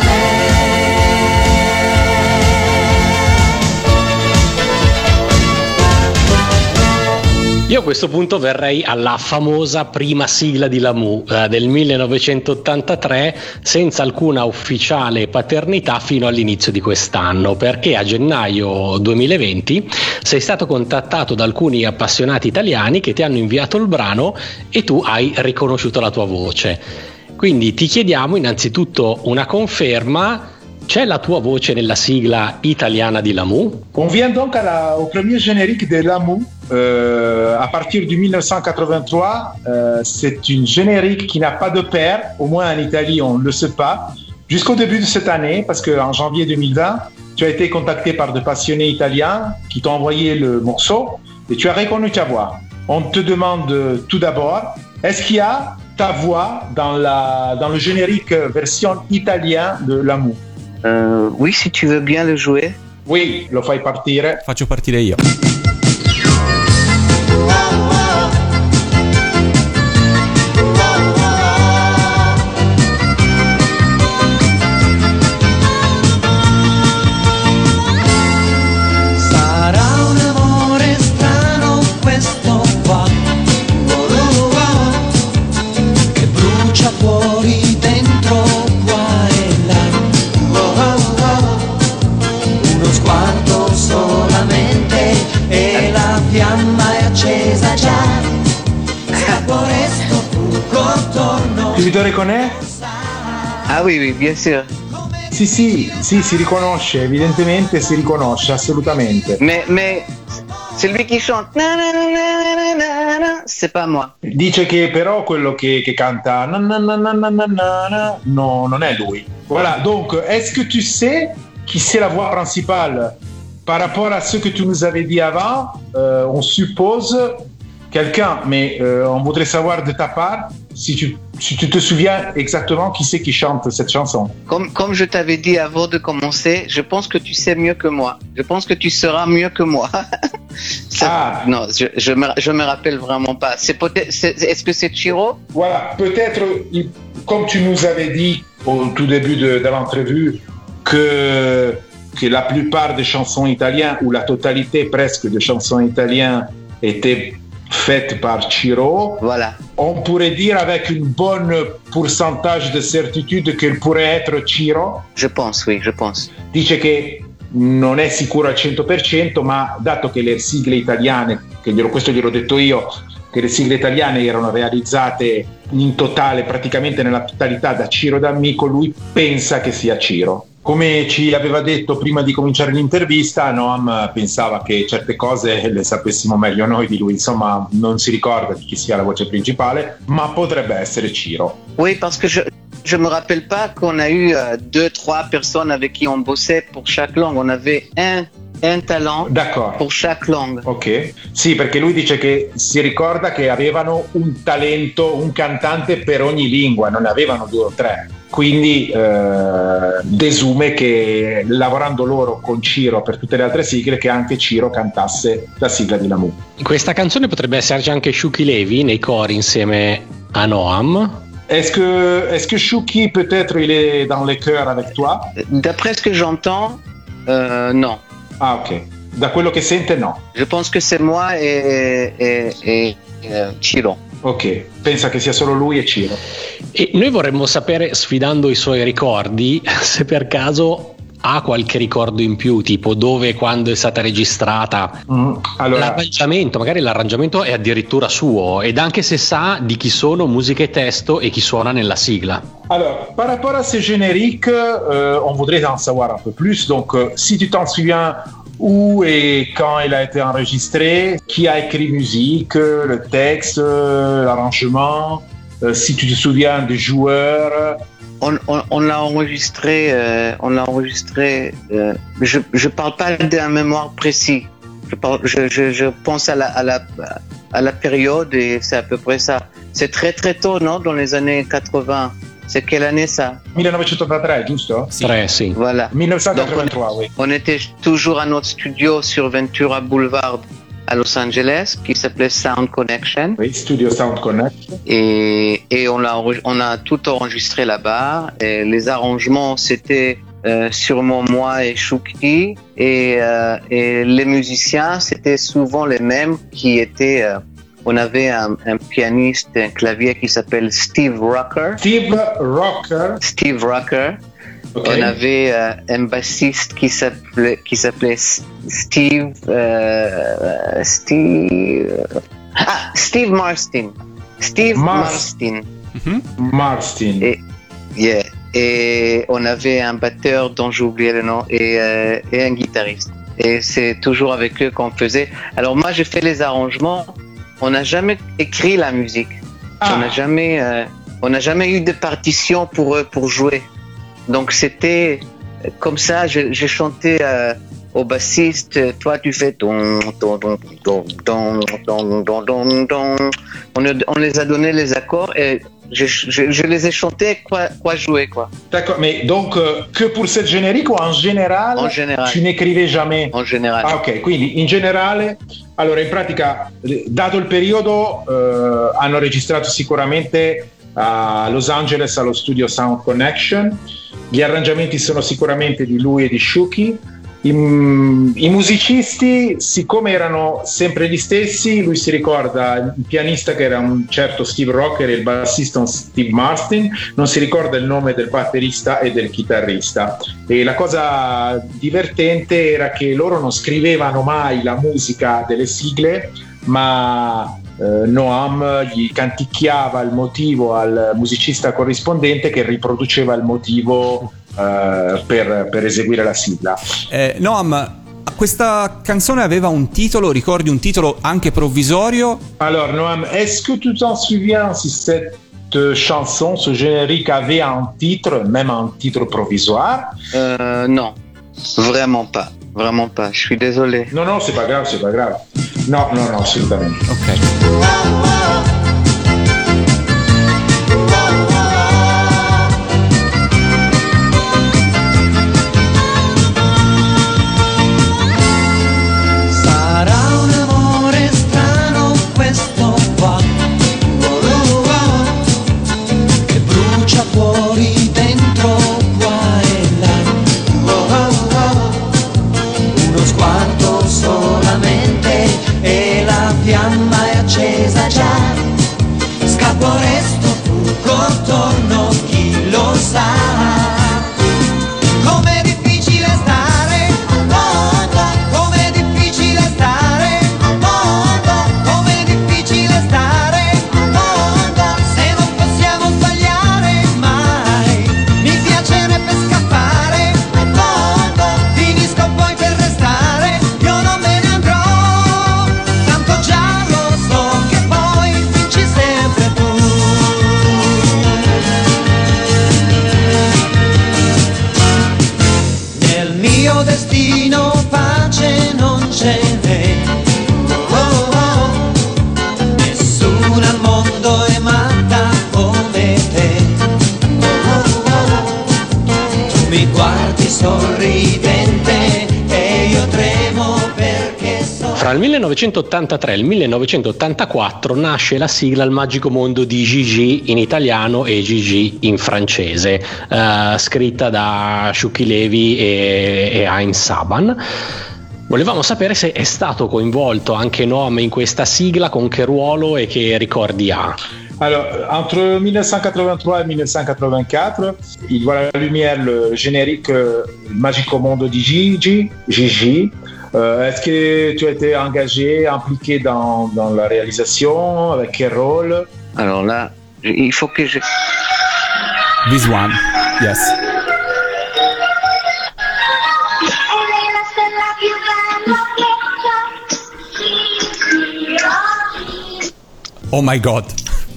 me. Io a questo punto verrei alla famosa prima sigla di Lamoux del 1983, senza alcuna ufficiale paternità fino all'inizio di quest'anno, perché a gennaio 2020 sei stato contattato da alcuni appassionati italiani che ti hanno inviato il brano e tu hai riconosciuto la tua voce. Quindi ti chiediamo innanzitutto una conferma: c'è la tua voce nella sigla italiana di Lamoux? On vient donc au premier générique de Lamoux. À partir du 1983, c'est une générique qui n'a pas de père, au moins en Italie on ne le sait pas, jusqu'au début de cette année, parce qu'en janvier 2020, tu as été contacté par des passionnés italiens qui t'ont envoyé le morceau et tu as reconnu ta voix. On te demande tout d'abord, est-ce qu'il y a ta voix dans le générique version italien de Lamoux? Oui, si tu veux bien le jouer. Oui, lo fai partire. Faccio partire io. Sarà un amore strano questo qua, che brucia fuori, dentro, qua e là. Uno sguardo solamente e la fiamma è accesa già. Scappo resto tutto attorno. Tu te reconnais? Ah oui, oui, bien sûr. Sì, si riconosce, evidentemente si riconosce, assolutamente. Mais c'est lui qui chante. Na, na, na, na, na, na, c'est pas moi. Dice che però quello che canta na, na, na, na, na, na, na, no, non è lui. Voilà, donc, est-ce que tu sais qui c'est la voix principale. Par rapport à ce que tu nous avais dit avant, on suppose quelqu'un, mais on voudrait savoir de ta part si tu te souviens exactement qui c'est qui chante cette chanson. Comme je t'avais dit avant de commencer, je pense que tu sais mieux que moi. Je pense que tu seras mieux que moi. Non, je me rappelle vraiment pas. Est-ce que c'est Ciro? Voilà, peut-être, comme tu nous avais dit au tout début de l'entrevue, que la plupart des chansons italiennes, ou la totalité presque des chansons italiennes, étaient faites par Ciro. Voilà. On pourrait dire avec une bonne pourcentage de certitude qu'elle pourrait être Ciro. Je pense, oui, je pense. Dice che non è sicuro al 100%, ma dato che le sigle italiane, questo gliel'ho detto io, che le sigle italiane erano realizzate in totale, praticamente nella totalità da Ciro D'Amico, lui pensa che sia Ciro. Come ci aveva detto prima di cominciare l'intervista, Noam pensava che certe cose le sapessimo meglio noi di lui, insomma non si ricorda di chi sia la voce principale, ma potrebbe essere Ciro. Oui, parce que je me rappelle pas qu'on a eu 2-3 personnes avec qui on bossait pour chaque langue. On avait un talent pour chaque langue. Ok, sì, perché lui dice che si ricorda che avevano un talento, un cantante per ogni lingua, non ne avevano 2 o 3. Quindi desume che lavorando loro con Ciro per tutte le altre sigle, che anche Ciro cantasse la sigla di Lamu. In questa canzone potrebbe esserci anche Shuki Levy nei cori insieme a Noam. Est-ce que Shuki peut-être il est dans les chœurs avec toi? D'après ce que j'entends, non. Ah ok, da quello che sente no. Je pense que c'est moi et Ciro. Ok, pensa che sia solo lui e Ciro. E noi vorremmo sapere, sfidando i suoi ricordi, se per caso ha qualche ricordo in più, tipo dove e quando è stata registrata. Allora, l'arrangiamento, magari l'arrangiamento è addirittura suo, ed anche se sa di chi sono musica e testo e chi suona nella sigla. Alors, par rapport à ces génériques, on voudrait en savoir un peu plus. Donc, si tu t'en souviens, où et quand il a été enregistré, qui a écrit musique, le texte, l'arrangement, si tu te souviens des joueurs. On l'a enregistré. Je parle pas d'un mémoire précis. Je pense à la période et c'est à peu près ça. C'est très très tôt, non? Dans les années 80. C'est quelle année ça? 1983, giusto? Sì. Sì. Voilà. 1983, oui. On était toujours à notre studio sur Ventura Boulevard à Los Angeles qui s'appelait Sound Connection. Oui, Studio Sound Connection. Et on a tout enregistré là-bas. Et les arrangements, c'était sûrement moi et Shuki. Et les musiciens, c'était souvent les mêmes qui étaient... on avait un pianiste, un clavier qui s'appelle Steve Rocker. Steve Rocker. Okay. On avait un bassiste qui s'appelait Steve Marston. Steve Marston. Marston. Et on avait un batteur dont j'ai oublié le nom et un guitariste. Et c'est toujours avec eux qu'on faisait. Alors moi j'ai fait les arrangements. On n'a jamais écrit la musique. On n'a jamais eu de partition pour eux pour jouer. Donc c'était comme ça. J'ai chanté au bassiste. Toi tu fais don. On les a donné les accords et je les ai chantés quoi jouer quoi. D'accord, mais donc que pour cette générique ou en général? En général. Tu n'écrivais jamais? En général. Ah ok, quindi in generale. Allora in pratica, dato il periodo, hanno registrato sicuramente a Los Angeles allo studio Sound Connection. Gli arrangiamenti sono sicuramente di lui e di Shuki. I musicisti, siccome erano sempre gli stessi, lui si ricorda il pianista che era un certo Steve Rocker e il bassista un Steve Marston, non si ricorda il nome del batterista e del chitarrista. E la cosa divertente era che loro non scrivevano mai la musica delle sigle, ma Noam gli canticchiava il motivo al musicista corrispondente che riproduceva il motivo per eseguire la sigla. Noam, questa canzone aveva un titolo, ricordi un titolo anche provvisorio? Alors Noam, est-ce que tu t'en souviens si cette chanson, ce générique avait un titre, même un titre provisoire? Non. Vraiment pas, vraiment pas. Je suis désolé. No, c'est pas grave, c'est pas grave. No, assolutamente. Ok. Sarà un amore strano questo qua, che brucia fuori, dentro, qua e là. Uno sguardo solamente e la fiamma è accesa già. Scappo, resto, fuggo, torno, chi lo sa. Com'è difficile stare al mondo, com'è difficile stare al mondo, com'è difficile stare al mondo, se non possiamo sbagliare mai. Mi piacerebbe scappare al mondo, finisco poi per restare, io non me ne andrò, tanto già lo so che poi vinci sempre tu. Nel mio destino pace non ce n'è. Nessuna al mondo è matta come te. Tu mi guardi sorridente e io tremo perché so. Fra il 1983 e il 1984 nasce la sigla Il magico mondo di Gigi in italiano e Gigi in francese, scritta da Shuki Levy e Haim Saban. Volevamo sapere se è stato coinvolto anche Noam in questa sigla, con che ruolo e che ricordi ha. Alors, entre 1983 et 1984, il voit la lumière le générique Il magico mondo di Gigi. Est-ce que tu as été engagé, impliqué dans la réalisation? Avec quel rôle? Alors là, il faut que je... This one. Yes. Oh my God.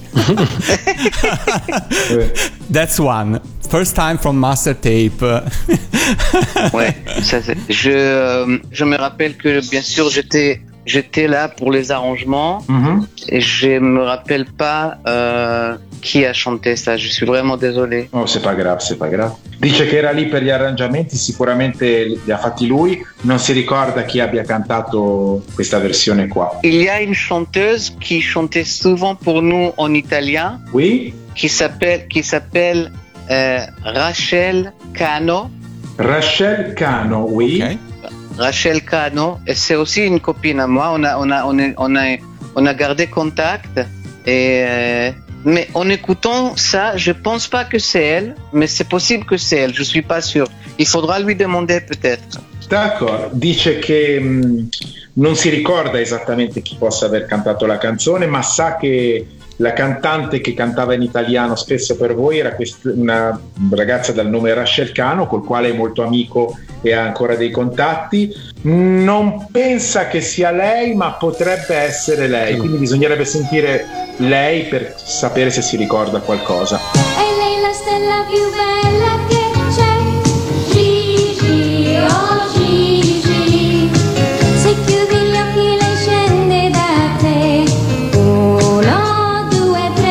That's one. First time from Master Tape. Ouais, ça c'est. Je me rappelle que bien sûr j'étais là pour les arrangements et je me rappelle pas chi ha chanté ça. Je suis vraiment désolé. Oh, c'est pas grave. Dice che era lì per gli arrangiamenti, sicuramente li ha fatti lui, non si ricorda chi abbia cantato questa versione qua. Il y a une chanteuse qui chantait souvent pour nous en italien. Oui. Qui s'appelle Rachel Cano. Rachel Cano, oui. Okay. Rachel Cano, et c'est aussi une copine à moi. On a gardé contact et mais en écoutant ça, je pense pas que c'est elle, mais c'est possible que c'est elle. Je suis pas sûr. Il faudra lui demander peut-être. D'accordo, dice che non si ricorda esattamente chi possa aver cantato la canzone, ma sa che la cantante che cantava in italiano spesso per voi era una ragazza dal nome Rachel Cano, col quale è molto amico e ha ancora dei contatti. Non pensa che sia lei, ma potrebbe essere lei, quindi bisognerebbe sentire lei per sapere se si ricorda qualcosa. E lei la stella più bella che c'è, Gigi, oh Gigi, se chiudi gli occhi lei scende da te, 1, 2, 3,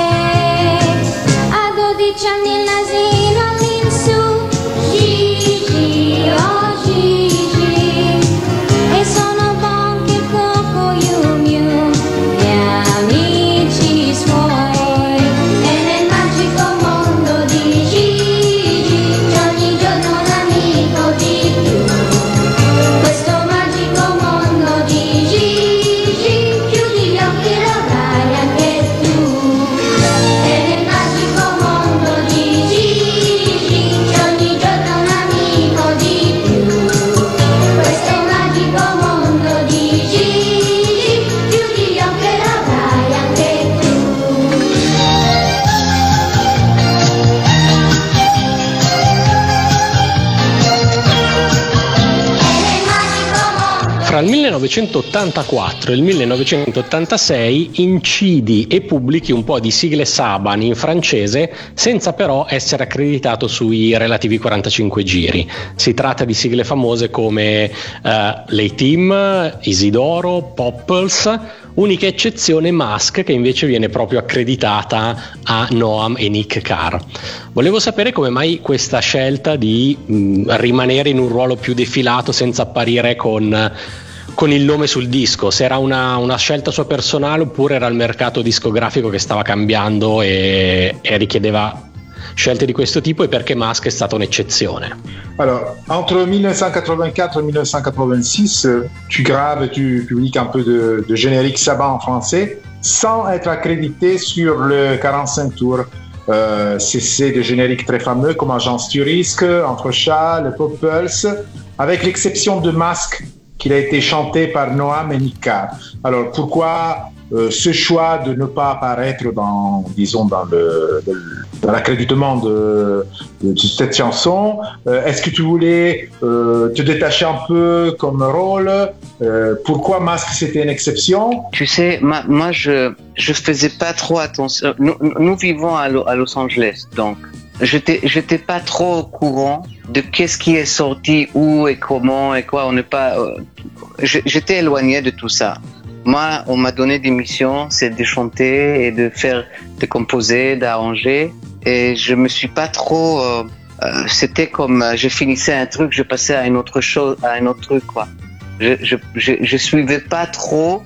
a 12 anni il nasino all'insù, Gigi, oh Gigi, e sono bon che coco you miu, gli amici suoi, e nel magico mondo di Gigi. 1984 e il 1986 incidi e pubblichi un po' di sigle Saban in francese senza però essere accreditato sui relativi 45 giri. Si tratta di sigle famose come Lay Team, Isidoro, Popples, unica eccezione Mask, che invece viene proprio accreditata a Noam e Nick Carr. Volevo sapere come mai questa scelta di rimanere in un ruolo più defilato senza apparire con il nome sul disco, se era una scelta sua personale oppure era il mercato discografico che stava cambiando e richiedeva scelte di questo tipo, e perché Mask è stata un'eccezione. Alors, entre 1984 et 1986, tu graves et tu publies un peu de générique Saban en français sans être accrédité sur le 45 tours. C'est des génériques très fameux comme Agence Turisque, Entre Chats, le Pop Pulse, avec l'exception de Mask, qu'il a été chanté par Noam et Nick Carr. Alors, pourquoi ce choix de ne pas apparaître dans l'accréditement de cette chanson? Est-ce que tu voulais te détacher un peu comme rôle? Pourquoi Mask c'était une exception? Tu sais, moi je faisais pas trop attention. Nous vivons à Los Angeles, donc j'étais pas trop au courant de qu'est-ce qui est sorti, où et comment et quoi. On n'est pas. J'étais éloigné de tout ça. Moi, on m'a donné des missions, c'est de chanter et de composer, d'arranger, et je me suis pas trop. C'était comme je finissais un truc, je passais à une autre chose, à un autre truc, quoi. Je suivais pas trop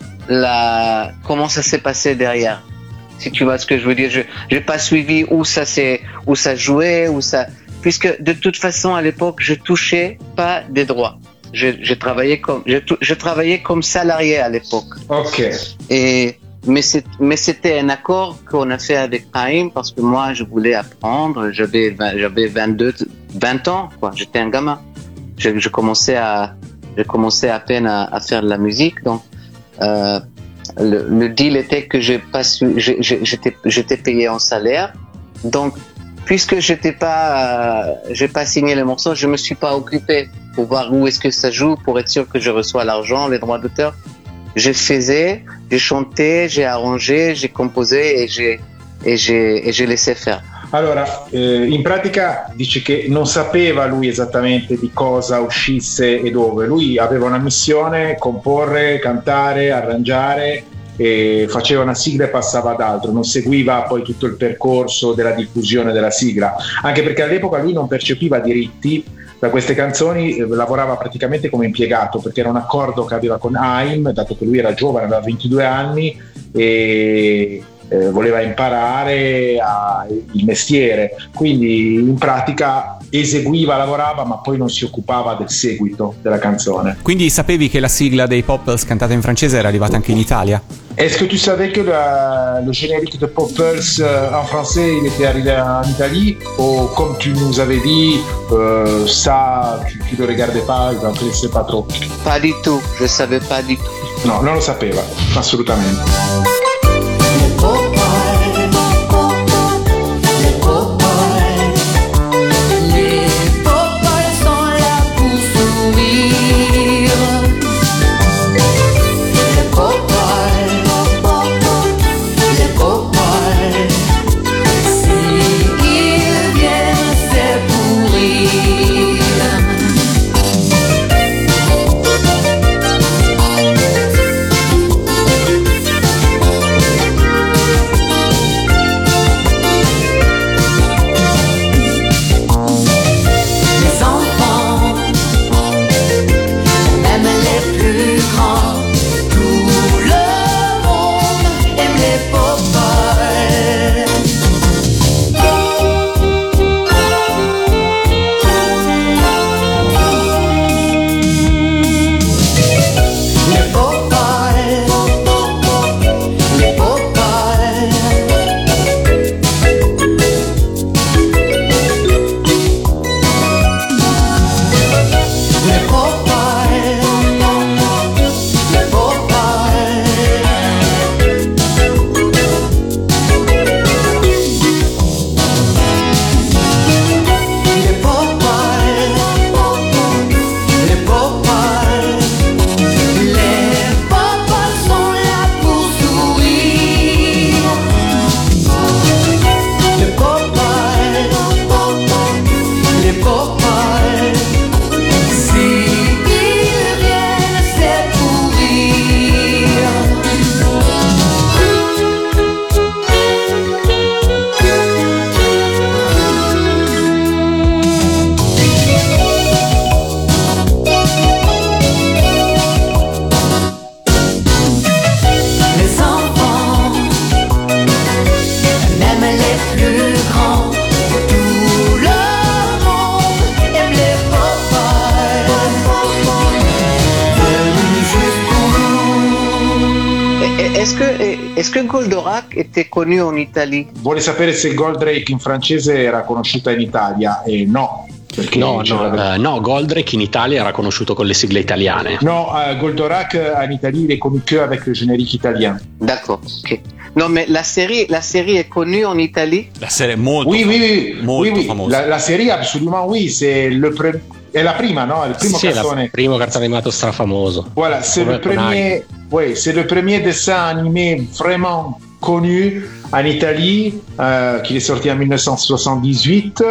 comment ça s'est passé derrière. Si tu vois ce que je veux dire, j'ai pas suivi où ça jouait, puisque de toute façon à l'époque je touchais pas des droits. Je travaillais comme salarié à l'époque. Ok. Mais c'était un accord qu'on a fait avec Haim parce que moi je voulais apprendre. J'avais 20 ans, quoi. J'étais un gamin. Je commençais à peine à faire de la musique, donc. Le deal était que j'étais payé en salaire, donc puisque j'ai pas signé les morceaux, je me suis pas occupé pour voir où est-ce que ça joue, pour être sûr que je reçois l'argent, les droits d'auteur. J'ai chanté, j'ai arrangé, j'ai composé et j'ai laissé faire. Allora, in pratica dice che non sapeva lui esattamente di cosa uscisse e dove. Lui aveva una missione: comporre, cantare, arrangiare, e faceva una sigla e passava ad altro, non seguiva poi tutto il percorso della diffusione della sigla, anche perché all'epoca lui non percepiva diritti da queste canzoni, lavorava praticamente come impiegato, perché era un accordo che aveva con Haim, dato che lui era giovane, aveva 22 anni e voleva imparare il mestiere, quindi in pratica eseguiva, lavorava, ma poi non si occupava del seguito della canzone. Quindi sapevi che la sigla dei Popples cantata in francese era arrivata anche in Italia? Est-ce que tu savais que le générique de Popples en français il était arrivé en Italie, ou comme tu nous avais dit ça tu le regardais pas, tu ne connaissais pas trop? Pas du tout, je savais pas du tout. No, non lo sapeva, assolutamente. est-ce que Goldorak était connu en Italie? Vuole sapere se Goldrake in francese era conosciuta in Italia, e no. No, Goldrake in Italia era conosciuto con le sigle italiane. No, Goldorak en Italie il est connu que avec le générique italien. D'accord, ok. Non, mais la série est connue en Italie? La serie è molto, oui. famosa. La série absolument oui, c'est è la prima, no? È il primo cartone. Il primo cartone animato strafamoso. Voilà, c'est le premier dessin animé vraiment connu en Italie, qui est sorti en 1978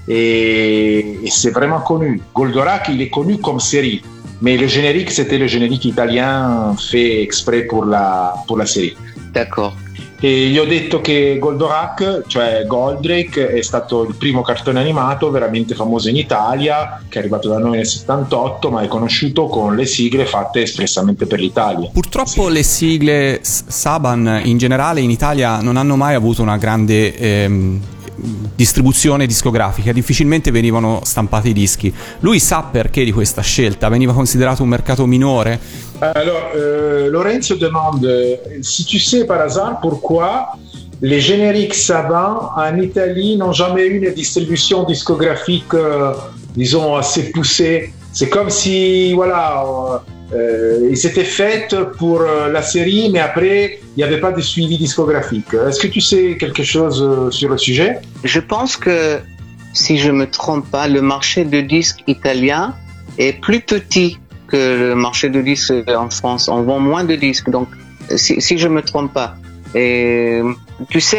et c'est vraiment connu. Goldorak, il est connu comme série, mais le générique, c'était le générique italien fait exprès pour la série. D'accord. E gli ho detto che Goldorak, cioè Goldrake, è stato il primo cartone animato veramente famoso in Italia, che è arrivato da noi nel 78, ma è conosciuto con le sigle fatte espressamente per l'Italia. Purtroppo le sigle Saban in generale in Italia non hanno mai avuto una grande distribuzione discografica, difficilmente venivano stampati i dischi. Lui sa perché di questa scelta? Veniva considerato un mercato minore? Alors, Lorenzo demande si tu sais par hasard pourquoi les génériques Saban en Italie n'ont jamais eu une distribution discographique, disons, assez poussée. C'est comme si, voilà, ils s'étaient faits pour la série, mais après, il n'y avait pas de suivi discographique. Est-ce que tu sais quelque chose sur le sujet? Je pense que, si je me trompe pas, le marché de disques italien est plus petit que le marché de disques en France. On vend moins de disques, donc si je me trompe pas. Et tu sais,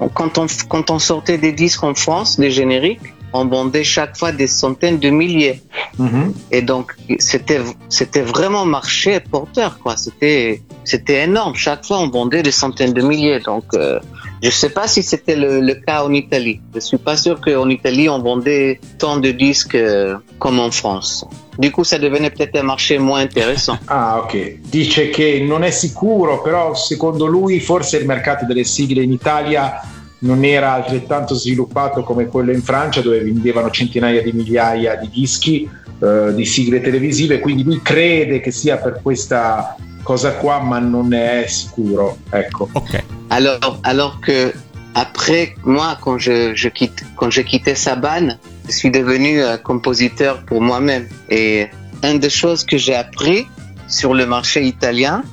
quand on sortait des disques en France, des génériques, on vendait chaque fois des centaines de milliers. Mm-hmm. Et donc c'était vraiment marché porteur, quoi. C'était énorme. Chaque fois on vendait des centaines de milliers. Donc je sais pas si c'était le cas en Italie. Je suis pas sûr qu'en Italie on vendait tant de disques comme en France. Du coup ça devenait peut-être un marché moins intéressant. Ah, ok. Dice che non è sicuro, però secondo lui forse il mercato delle sigle in Italia non era altrettanto sviluppato come quello in Francia, dove vendevano centinaia di migliaia di dischi di sigle televisive, quindi lui crede che sia per questa cosa qua, ma non ne è sicuro, ecco. Ok. Alors que après, moi, quand j'ai quitté Saban, je suis devenu compositeur pour moi-même. Et une des choses que j'ai appris sur le marché italien,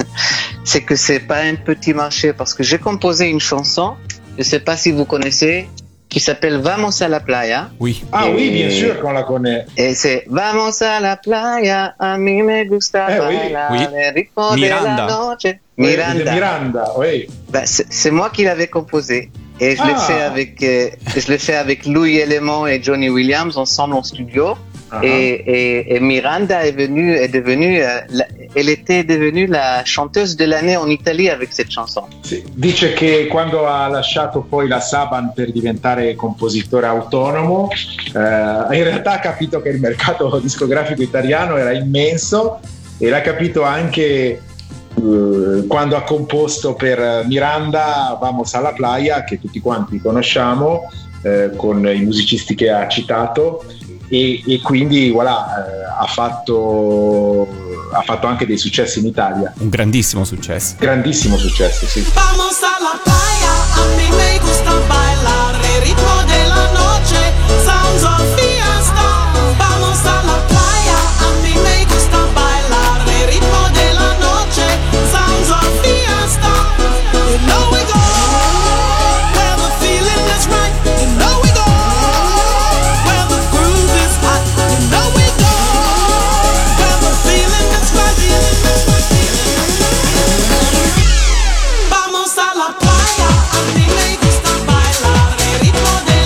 c'est que c'est pas un petit marché, parce que j'ai composé une chanson, je sais pas si vous connaissez, qui s'appelle Vamos a la playa. Oui. Ah oui, bien sûr qu'on la connaît. Et c'est Vamos a la playa, a mí me gusta bailar, el ritmo de la noche. Miranda, oui. Ben, c'est moi qui l'avais composé. Et je l'ai fait avec Louis Element et Johnny Williams ensemble en studio. Uh-huh. Et Miranda elle était devenue la chanteuse de l'année en Italie avec cette chanson. Sì. Dice che quando ha lasciato poi la Saban per diventare compositore autonomo, in realtà ha capito che il mercato discografico italiano era immenso, e l'ha capito anche quando ha composto per Miranda Vamos a la playa, che tutti quanti conosciamo, con i musicisti che ha citato. E quindi voilà, ha fatto anche dei successi in Italia. Un grandissimo successo. Grandissimo successo, sì. Vamos a la playa, a mí me gusta bailar, el ritmo de la noche, sounds of fiesta. Vamos a la playa, a mí me gusta bailar, el ritmo de la noche, sounds of fiesta. You know we go where the feeling is right. You know we go where the groove is hot. You know we go where the feeling is right. Vamos a la playa, a mí me gusta bailar, el ritmo de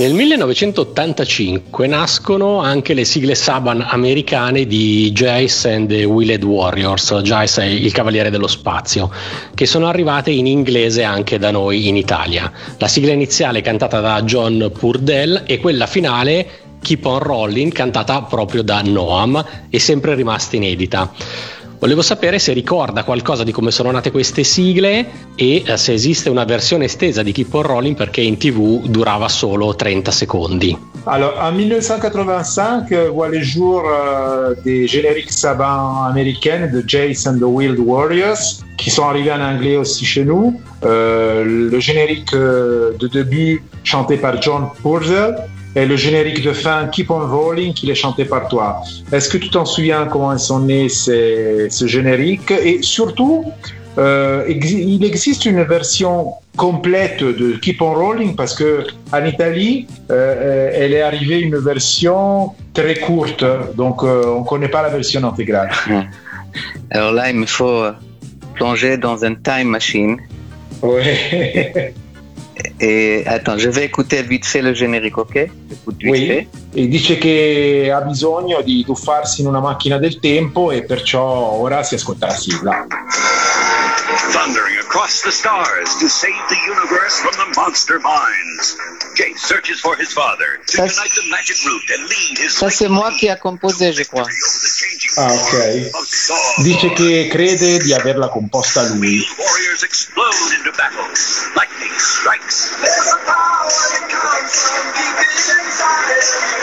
Nel 1985 nascono anche le sigle Saban americane di Jace and the Wheeled Warriors, Jace è il Cavaliere dello Spazio, che sono arrivate in inglese anche da noi in Italia. La sigla iniziale cantata da John Purdell e quella finale Keep on Rolling cantata proprio da Noam e sempre rimasta inedita. Volevo sapere se ricorda qualcosa di come sono nate queste sigle e se esiste una versione estesa di Keep on Rolling, perché in TV durava solo 30 secondi. Alors, en 1985, voit le jour des génériques Saban américaines de Jace and the Wheeled Warriors, qui sont arrivés en anglais aussi chez nous. Le générique de début chanté par John Purcell et le générique de fin Keep on Rolling qu'il est chanté par toi. Est-ce que tu t'en souviens comment sont nés ce générique? Et surtout, il existe une version complète de Keep on Rolling parce que en Italie, elle est arrivée une version très courte, donc on connaît pas la version intégrale. Alors là, il me faut plonger dans un time machine. Ouais. Et attends, je vais écouter vite fait le générique, ok? Écoute vite Oui. fait. E dice che ha bisogno di tuffarsi in una macchina del tempo e perciò ora si ascolta la sigla. Thundering across the stars to save the universe from the monster minds. Jace searches for his father to Ça, unite the magic root and lead his Ça, c'est moi qui a composé, je crois. Ah, ok. Dice che crede di averla composta lui. Warriors explode into battle. Lightning strikes. There's a power that comes from deep inside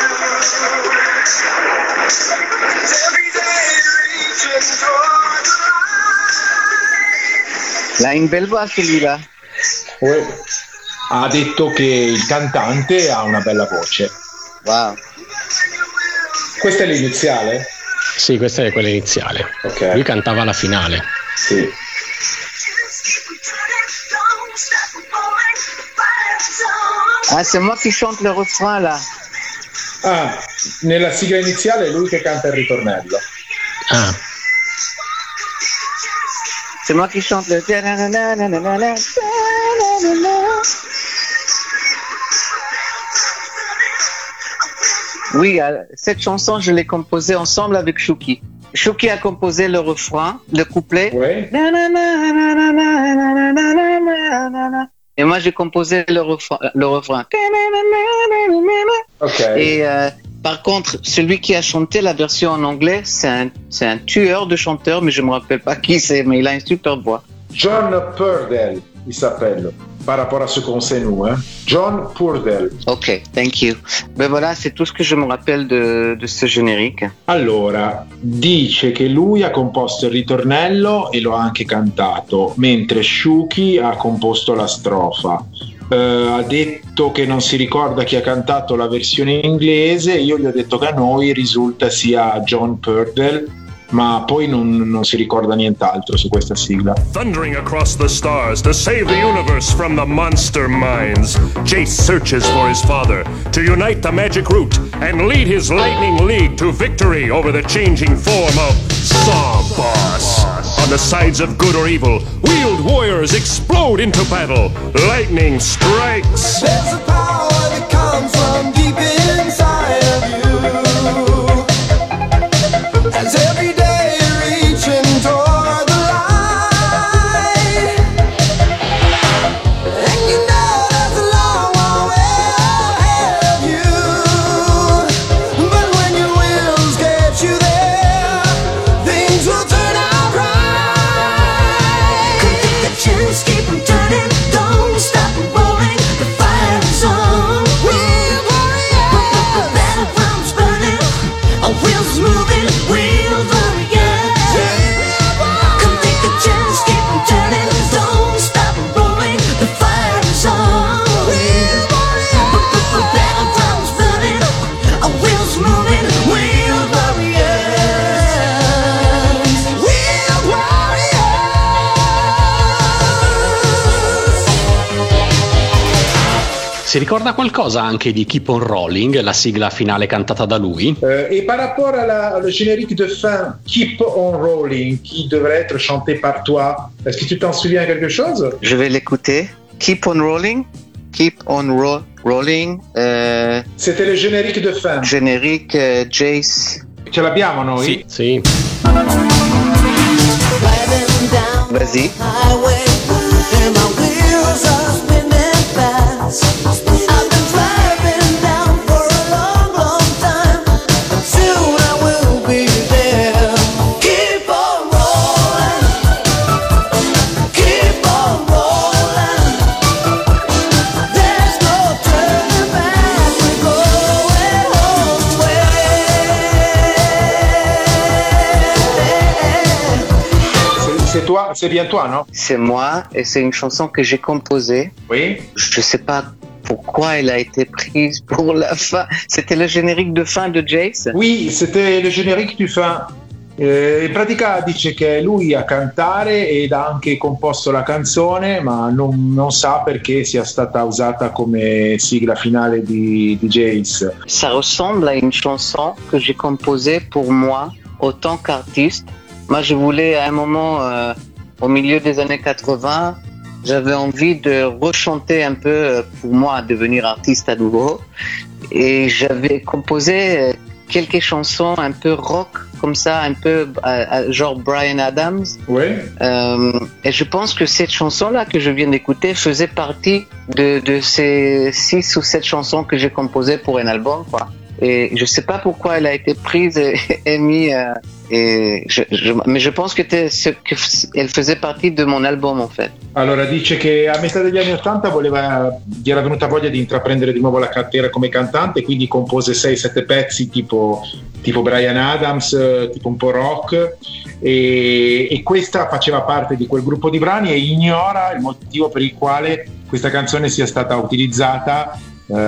you. Every day reaching toward the light. Là, une belle voix, celui-là. Ouais. Ha detto che il cantante ha una bella voce. Wow. Questa è l'iniziale? Sì, questa è quella iniziale. Ok. Lui cantava la finale. Sì. Ah, c'est moi qui chante le refrain, là. Ah, nella sigla iniziale è lui che canta il ritornello. Ah, C'est moi qui chante le... Oui, cette chanson, je l'ai composée ensemble avec Chouki. Chouki a composé le refrain, le couplet. Ouais. Et moi, j'ai composé le refrain. Ok. Et par contre, celui qui a chanté la version en anglais, c'est un tueur de chanteur, mais je me rappelle pas qui c'est, mais il a une super voix. John Purdell, il s'appelle. Par rapport à ce qu'on sait nous, hein. John Purdell. Ok, thank you. Ben voilà, c'est tout ce que je me rappelle de ce générique. Allora, dice che lui ha composto il ritornello e lo ha anche cantato, mentre Shuki ha composto la strofa. Ha detto che non si ricorda chi ha cantato la versione inglese, io gli ho detto che a noi risulta sia John Purdell, ma poi non si ricorda nient'altro su questa sigla. Thundering across the stars to save the universe from the monster minds, Jace searches for his father to unite the magic root and lead his lightning league to victory over the changing form of Sawboss. On the sides of good or evil, wheeled warriors explode into battle. Lightning strikes. There's a power that comes from deep inside of you. As every day reaching toward the light. And you know there's a long, long way ahead of you. But when your wheels get you there, things will turn out right. Take the chance, keep 'em turning, don't stop 'em rolling. The fire is on. We're warriors. The battleground's burning, our wheels moving, wheel warriors. Come take the chance, keep 'em turning, don't stop 'em rolling. The fire is on. The battleground's burning, our wheels moving, wheel warriors. We're warriors. si ricorda qualcosa anche di Keep on Rolling, la sigla finale cantata da lui? Et par rapport à le générique de fin, Keep on Rolling, qui devrait être chanté par toi, est-ce que tu t'en souviens quelque chose? Je vais l'écouter. Keep on rolling. Keep on Rolling. C'était le générique de fin. Générique Jace. Ce l'abbiamo noi? Sì, sì. Vas-y. Highway, and my wheels are spinning fast. I've been driving down for a long, long time, but soon I will be there. Keep on rolling, keep on rolling. There's no turning back, we're going home way. C'est bien toi, non? C'est moi et c'est une chanson que j'ai composée. Oui. Je sais pas pourquoi elle a été prise pour la fin. C'était le générique de fin de Jace? Oui, c'était le générique di fin. In pratica dice che è lui a cantare ed ha anche composto la canzone, ma non sa perché sia stata usata come sigla finale di Jace. Ça ressemble à une chanson que j'ai composée pour moi, autant qu'artiste. Moi, je voulais à un moment, au milieu des années 80, j'avais envie de rechanter un peu pour moi, devenir artiste à nouveau. Et j'avais composé quelques chansons un peu rock, comme ça, un peu genre Bryan Adams. Oui. Et je pense que cette chanson-là que je viens d'écouter faisait partie de ces 6 ou 7 chansons que j'ai composées pour un album, quoi. Et je sais pas pourquoi elle a été prise et mise. Mais je pense que elle faisait partie de mon album en fait. Allora dice che a metà degli anni 80 gli era venuta voglia di intraprendere di nuovo la carriera come cantante, quindi compose 6-7 pezzi tipo Bryan Adams, tipo un po' rock, e questa faceva parte di quel gruppo di brani e ignora il motivo per il quale questa canzone sia stata utilizzata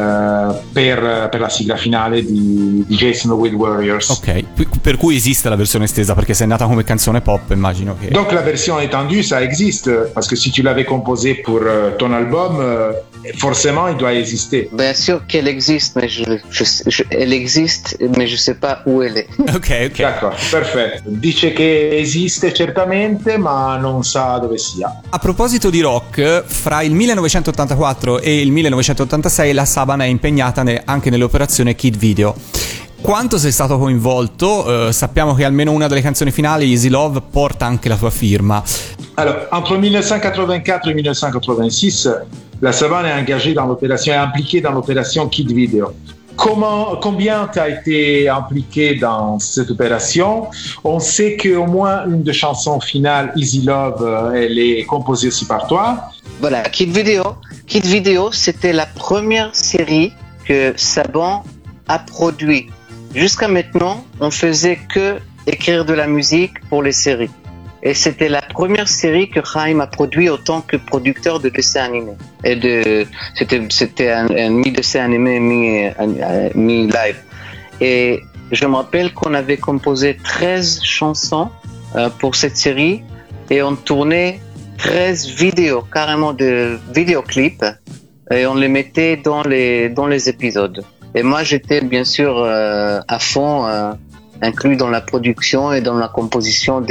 per la sigla finale di Jason the Wind Warriors. Ok, per cui esiste la versione estesa perché se è nata come canzone pop, immagino che... Donc la version étendue ça existe parce que si tu l'avais composée pour ton album forcément il doit exister. Bien sûr qu'elle existe, mais elle existe, mais je sais pas où elle est. Ok. D'accordo, perfetto. Dice che esiste certamente, ma non sa dove sia. A proposito di rock, fra il 1984 e il 1986 la Saban è impegnata anche nell'operazione Kid Video. Quanto sei stato coinvolto? Sappiamo che almeno una delle canzoni finali, Easy Love, porta anche la tua firma. Alors, entre 1984 et 1986, la Saban est engagée dans l'opération, est impliquée dans l'opération Kid Video. Combien tu as été impliqué dans cette opération? On sait qu'au moins une des chansons finales, Easy Love, elle est composée aussi par toi. Voilà, Kid Video, c'était la première série que Saban a produit. Jusqu'à maintenant, on faisait que écrire de la musique pour les séries. Et c'était la première série que Chaim a produit en tant que producteur de dessins animés. C'était un mi-dessin animé, mi-live. Et je me rappelle qu'on avait composé 13 chansons pour cette série et on tournait 13 vidéos, carrément de vidéoclips, et on les mettait dans les épisodes. Et moi, j'étais bien sûr à fond inclus dans la production et dans la composition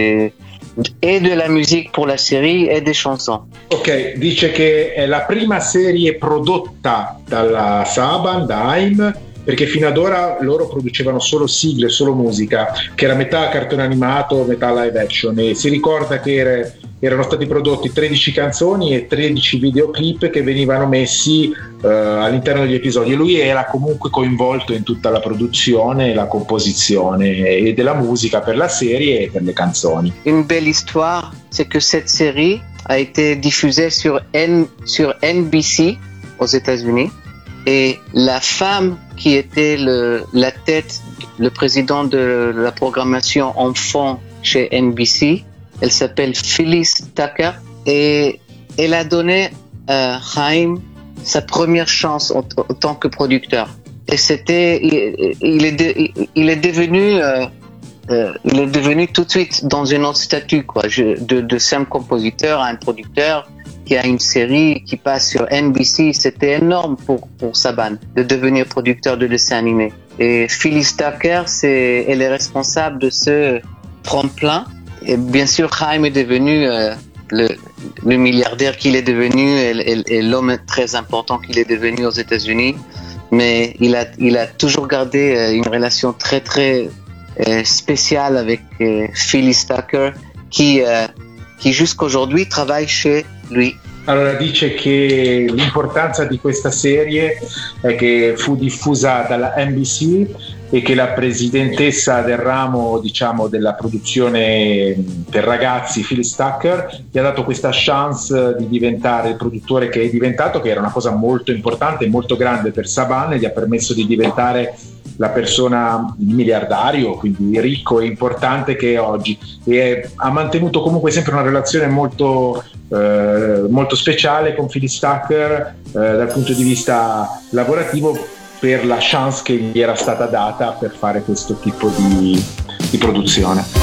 et de la musique pour la série e des chansons. Ok, dice che è la prima serie prodotta dalla Saban, da Haim, perché fino ad ora loro producevano solo sigle, solo musica, che era metà cartone animato, metà live action, e si ricorda che erano stati prodotti 13 canzoni e 13 videoclip che venivano messi all'interno degli episodi, e lui era comunque coinvolto in tutta la produzione e la composizione e della musica per la serie e per le canzoni. Une belle histoire, c'est que cette série a été diffusée sur NBC aux États-Unis, et la femme qui était la tête, le président de la programmation enfant chez NBC, elle s'appelle Phyllis Tucker, et elle a donné à Chaim sa première chance en tant que producteur. Et il est devenu tout de suite dans un autre statut, quoi, de simple compositeur à un producteur qui a une série qui passe sur NBC. C'était énorme pour Saban de devenir producteur de dessins animés. Et Phyllis Tucker, elle est responsable de ce tremplin. Et bien sûr, Chaim est devenu le milliardaire qu'il est devenu et l'homme très important qu'il est devenu aux États-Unis. Mais il a toujours gardé une relation très très spéciale avec Phyllis Tucker qui jusqu'aujourd'hui travaille chez lui. Allora dice che l'importanza di questa serie è che fu diffusa dalla NBC e che la presidentessa del ramo, diciamo, della produzione per ragazzi, Phyllis Tucker, gli ha dato questa chance di diventare il produttore che è diventato, che era una cosa molto importante e molto grande per Saban, e gli ha permesso di diventare la persona, il miliardario, quindi ricco e importante che è oggi, e ha mantenuto comunque sempre una relazione molto speciale con Phyllis Tucker dal punto di vista lavorativo, per la chance che gli era stata data per fare questo tipo di produzione.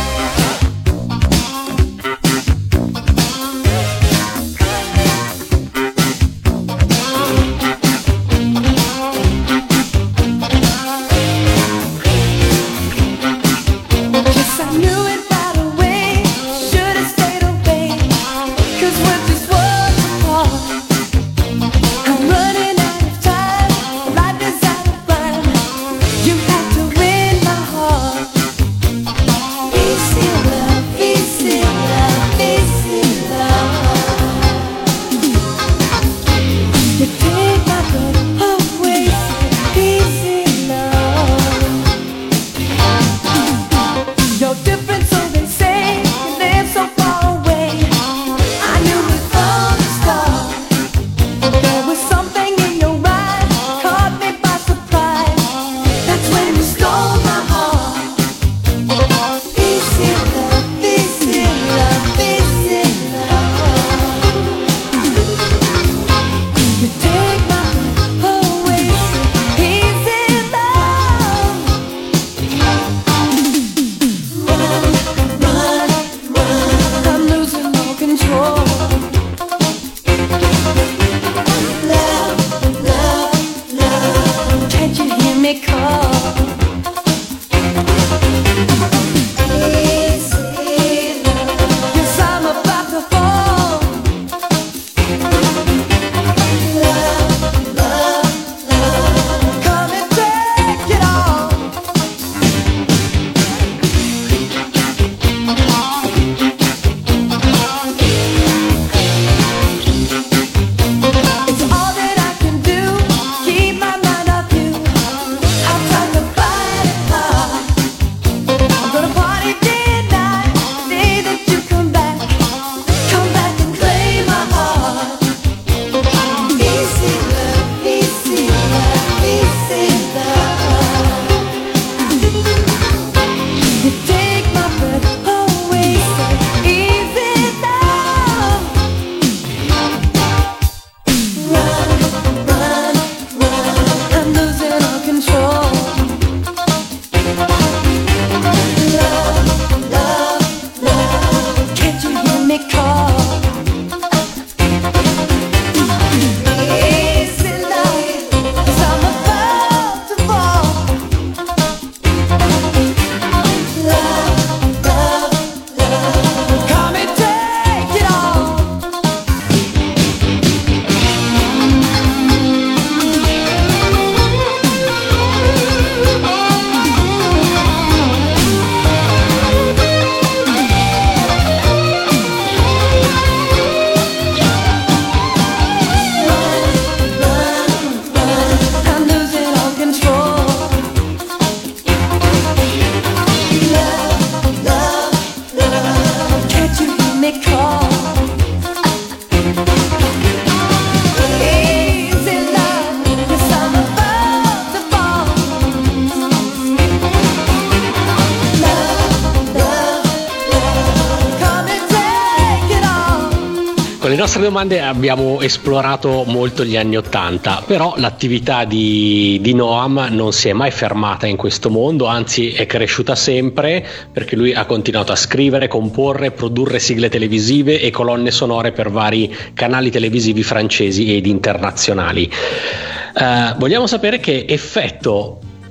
Con le nostre domande abbiamo esplorato molto gli anni '80, però l'attività di Noam non si è mai fermata in questo mondo, anzi è cresciuta sempre, perché lui ha continuato a scrivere, comporre, produrre sigle televisive e colonne sonore per vari canali televisivi francesi ed internazionali. Vogliamo sapere che effetto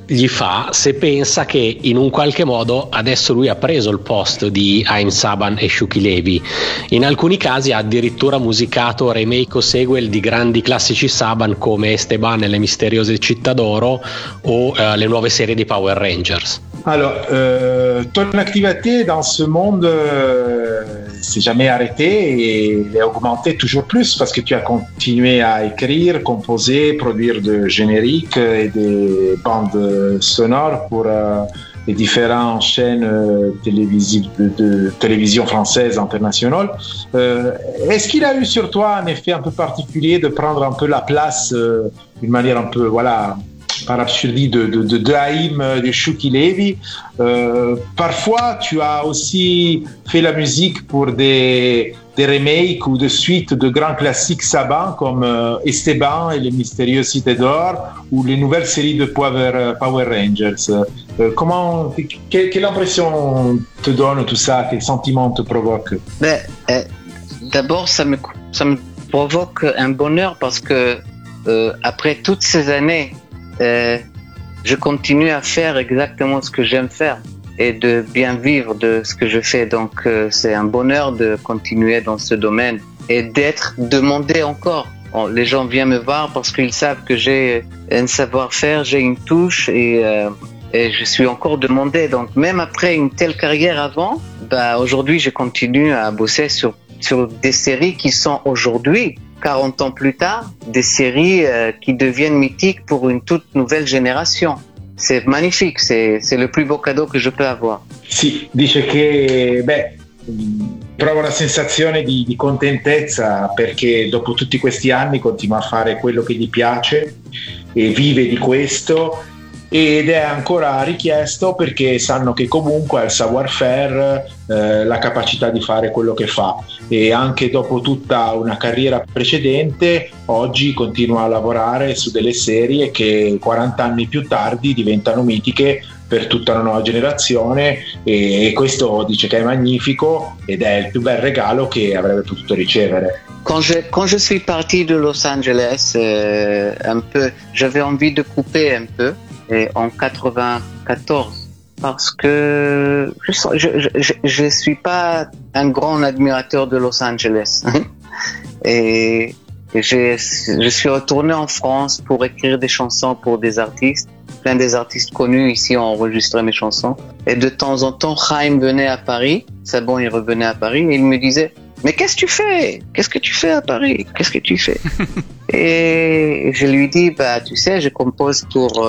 gli fa se pensa che in un qualche modo adesso lui ha preso il posto di Haim Saban e Shuki Levy. In alcuni casi ha addirittura musicato remake o sequel di grandi classici Saban come Esteban e le misteriose città d'oro o le nuove serie di Power Rangers. Alors, ton activité dans ce monde s'est jamais arrêtée et elle a augmenté toujours plus parce que tu as continué à écrire, composer, produire de génériques et des bandes sonores pour les différentes chaînes télévisives de télévision française internationale. Est-ce qu'il a eu sur toi un effet un peu particulier de prendre un peu la place d'une manière un peu, voilà, par absurdie de Haim, de Shuki Levy. Parfois, tu as aussi fait la musique pour des remakes ou des suites de grands classiques Saban comme Esteban et les mystérieuses cités d'or ou les nouvelles séries de Power Rangers. Quelle impression te donne tout ça? Quel sentiment te provoque? D'abord, ça me provoque un bonheur parce que après toutes ces années, je continue à faire exactement ce que j'aime faire et de bien vivre de ce que je fais. Donc c'est un bonheur de continuer dans ce domaine et d'être demandé encore. Les gens viennent me voir parce qu'ils savent que j'ai un savoir-faire, j'ai une touche et je suis encore demandé. Donc même après une telle carrière avant, aujourd'hui je continue à bosser sur des séries qui sont aujourd'hui 40 ans plus tard, des séries qui deviennent mythiques pour une toute nouvelle génération. C'est magnifique, c'est le plus beau cadeau che je peux avoir. Sì, dice che prova una sensazione di contentezza perché dopo tutti questi anni continua a fare quello che gli piace e vive di questo ed è ancora richiesto perché sanno che comunque ha il savoir-faire, la capacità di fare quello che fa e anche dopo tutta una carriera precedente oggi continua a lavorare su delle serie che 40 anni più tardi diventano mitiche per tutta una nuova generazione e questo dice che è magnifico ed è il più bel regalo che avrebbe potuto ricevere. Quand je suis parti de Los Angeles, un peu, j'avais envie de couper un peu. En 94 parce que je suis pas un grand admirateur de Los Angeles et je suis retourné en France pour écrire des chansons pour des artistes. Plein des artistes connus ici ont enregistré mes chansons et de temps en temps Haim venait à Paris, Saban il revenait à Paris et il me disait mais qu'est-ce que tu fais? Qu'est-ce que tu fais à Paris? Qu'est-ce que tu fais? Et je lui dis, tu sais, je compose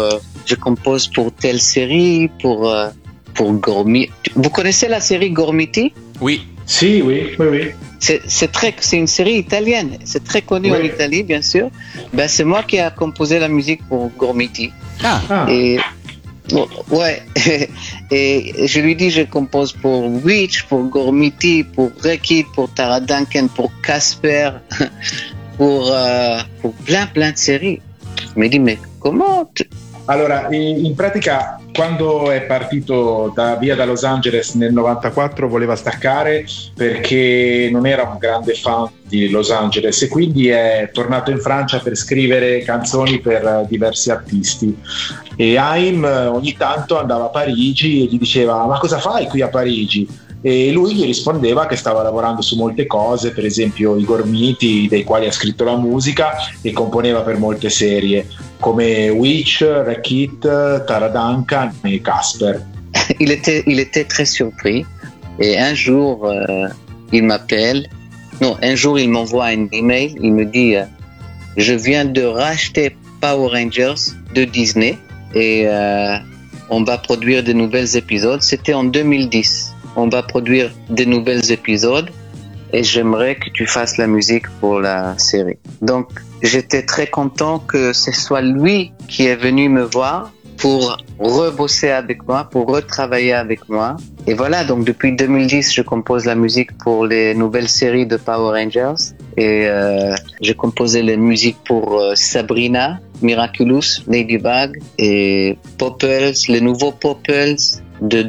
pour telle série, pour Gormiti. Vous connaissez la série Gormiti? Oui. Si, oui. C'est une série italienne. C'est très connu en Italie, bien sûr. C'est moi qui ai composé la musique pour Gormiti. Et ouais. Et je lui dis, je compose pour Witch, pour Gormiti, pour Rekid, pour Tara Duncan, pour Casper, pour plein de séries. Mi dice, ma come? Allora, in pratica, quando è partito via da Los Angeles nel 94 voleva staccare perché non era un grande fan di Los Angeles e quindi è tornato in Francia per scrivere canzoni per diversi artisti. E Haim ogni tanto andava a Parigi e gli diceva: ma cosa fai qui a Parigi? E lui gli rispondeva che stava lavorando su molte cose, per esempio i Gormiti, dei quali ha scritto la musica e componeva per molte serie come Witch, Rekid, Tara Duncan et Casper. Il était très surpris et un jour il m'appelle, un jour il m'envoie un email, il me dit je viens de racheter Power Rangers de Disney et on va produire de nouveaux épisodes. C'était en 2010. On va produire de nouveaux épisodes et j'aimerais que tu fasses la musique pour la série. Donc, j'étais très content que ce soit lui qui est venu me voir pour rebosser avec moi, pour retravailler avec moi. Et voilà, donc depuis 2010, je compose la musique pour les nouvelles séries de Power Rangers et j'ai composé les musiques pour Sabrina, Miraculous, Ladybug et Popples, les nouveaux Popples de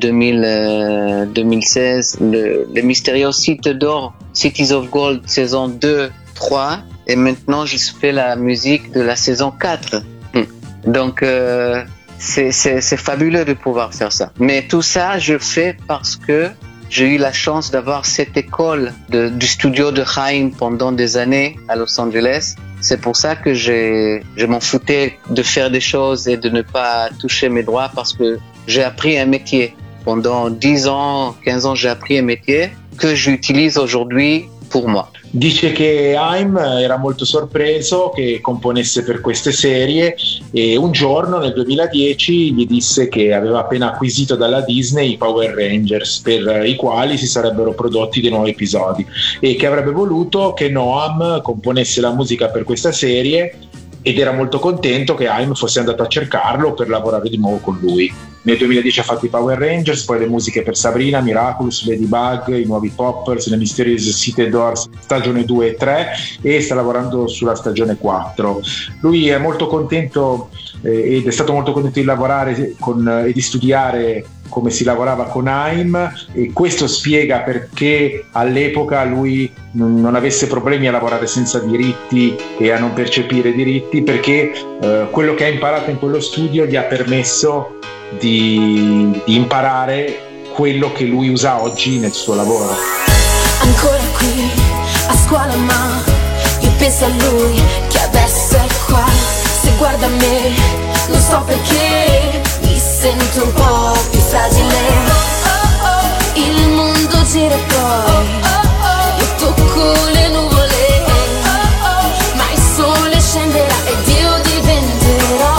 2016, les mystérieuses cités d'or, Cities of Gold, saison 2, 3, et maintenant je fais la musique de la saison 4. Donc c'est fabuleux de pouvoir faire ça. Mais tout ça, je fais parce que j'ai eu la chance d'avoir cette école du studio de Haim pendant des années à Los Angeles. C'est pour ça que je m'en foutais de faire des choses et de ne pas toucher mes droits, parce que j'ai appris un métier. Pendant 10 ans, 15 ans, j'ai appris un métier que j'utilise aujourd'hui pour moi. Dice che Haim era molto sorpreso che componesse per queste serie e un giorno nel 2010 gli disse che aveva appena acquisito dalla Disney i Power Rangers, per i quali si sarebbero prodotti dei nuovi episodi, e che avrebbe voluto che Noam componesse la musica per questa serie, ed era molto contento che Haim fosse andato a cercarlo per lavorare di nuovo con lui. Nel 2010 ha fatto i Power Rangers, poi le musiche per Sabrina, Miraculous, Ladybug, i nuovi Poppers, le Mysterious City Doors, stagione 2 e 3, e sta lavorando sulla stagione 4. Lui è molto contento ed è stato molto contento di lavorare e di studiare come si lavorava con Haim, e questo spiega perché all'epoca lui non avesse problemi a lavorare senza diritti e a non percepire diritti, perché quello che ha imparato in quello studio gli ha permesso di imparare quello che lui usa oggi nel suo lavoro. Ancora qui a scuola, ma io penso a lui che adesso è qua. Se guarda me non so perché mi sento un po' più fragile. Il mondo gira e poi io tocco le nuvole, ma il sole scenderà ed io diventerò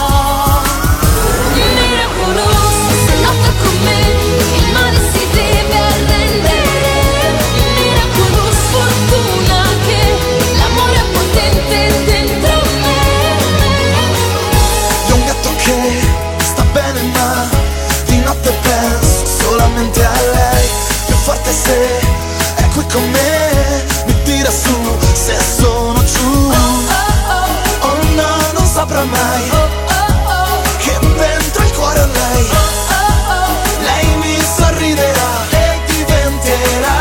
miracoloso. Se lotta con me il male si deve arrendere. Miracoloso, fortuna che l'amore è potente dentro me. Di un gatto che sta bene ma di notte penso solamente a lei. Più forte se è qui con me, mi tira su se sono giù. Oh no, non saprà mai che dentro il cuore ho lei. Lei mi sorriderà e diventerà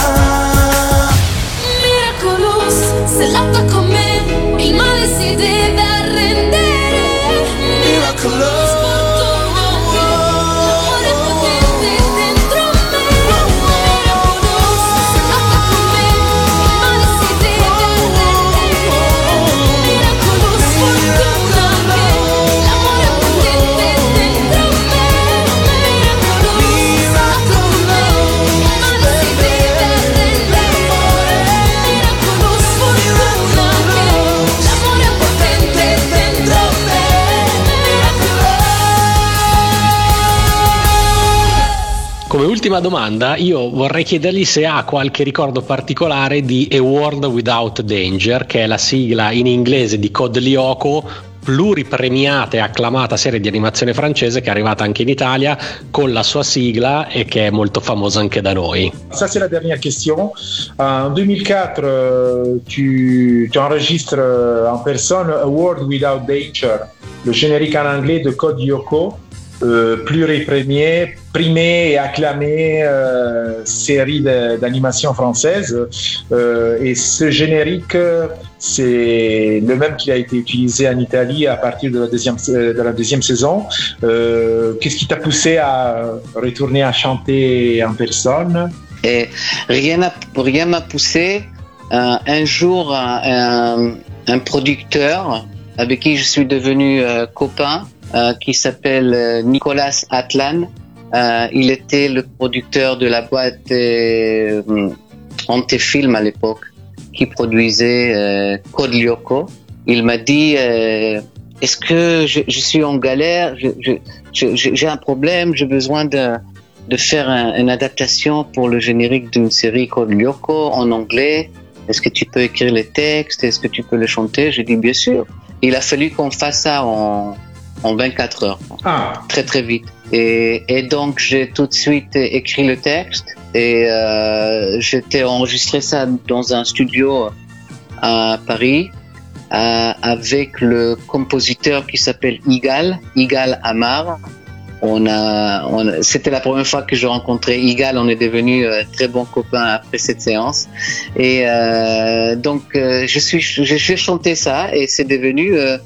Miracoloso, se lotta con me il male si deve arrendere. Miracoloso. L'amore è potente dentro me. Miracoloso, se lotta con me il male si deve arrendere. Miracoloso, fortuna che l'amore è potente dentro me. Miracoloso, se lotta con me il male si deve arrendere. Miracoloso, fortuna che l'amore è potente dentro me. Come ultima domanda, io vorrei chiedergli se ha qualche ricordo particolare di A World Without Danger, che è la sigla in inglese di Code Lyoko, pluripremiata e acclamata serie di animazione francese che è arrivata anche in Italia con la sua sigla e che è molto famosa anche da noi. Ça, c'est la dernière question. En 2004, tu enregistres en personne A World Without Danger, le générique en anglais de Code Lyoko, pluriprimé et acclamé série d'animation française. Et ce générique, c'est le même qui a été utilisé en Italie à partir de la deuxième saison. Qu'est-ce qui t'a poussé à retourner à chanter en personne? Et rien m'a poussé. Un jour, un producteur avec qui je suis devenu copain, qui s'appelle Nicolas Atlan. Il était le producteur de la boîte Antefilm à l'époque, qui produisait Code Lyoko. Il m'a dit est-ce que je suis en galère, j'ai un problème, j'ai besoin de faire une adaptation pour le générique d'une série Code Lyoko en anglais. Est-ce que tu peux écrire les textes? Est-ce que tu peux les chanter? J'ai dit bien sûr. Il a fallu qu'on fasse ça en 24 heures. Très très vite. Et donc j'ai tout de suite écrit le texte et j'étais enregistré ça dans un studio à Paris avec le compositeur qui s'appelle Igal Amar. C'était la première fois que je rencontrais Igal, on est devenus très bons copains après cette séance. Et donc j'ai chanté ça et c'est devenu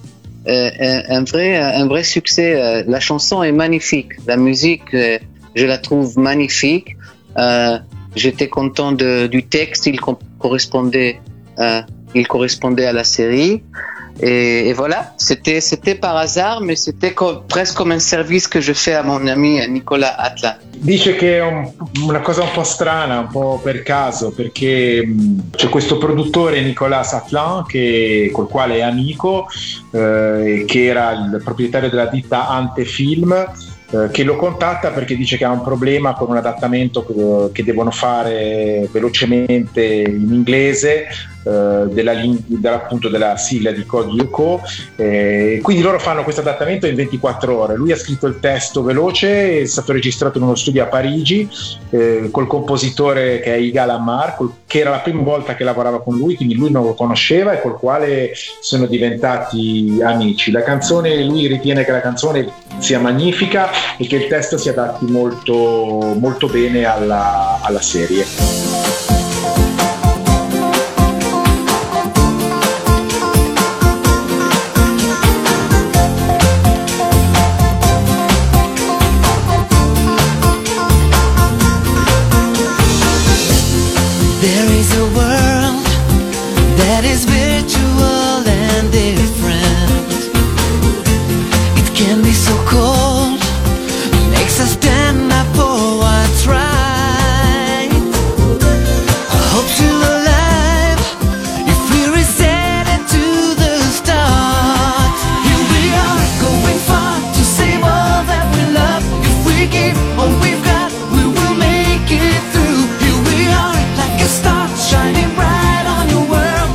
un vrai succès. La chanson est magnifique, la musique, je la trouve magnifique. J'étais content du texte, il correspondait à la série. Et voilà, c'était par hasard, mais c'était presque comme un service que je fais à mon ami Nicolas Atlan. Dice che è una cosa un po' strana, un po' per caso, perché c'è questo produttore Nicolas Atlan col quale è amico, che era il proprietario della ditta Antefilm, che lo contatta perché dice che ha un problema con un adattamento che devono fare velocemente in inglese appunto della sigla di Code Lyoko, quindi loro fanno questo adattamento in 24 ore. Lui ha scritto il testo veloce, è stato registrato in uno studio a Parigi col compositore che è Yigal Amar, che era la prima volta che lavorava con lui, quindi lui non lo conosceva e col quale sono diventati amici. La canzone, lui ritiene che la canzone sia magnifica e che il testo si adatti molto, molto bene alla serie. There is a world that is virtual and different. It can be so cold, makes us stand up for what's right. I hope still alive if we reset it to the start. Here we are going far to save all that we love. If we give all we've got, we will make it through. Here we are like a star shining bright on your world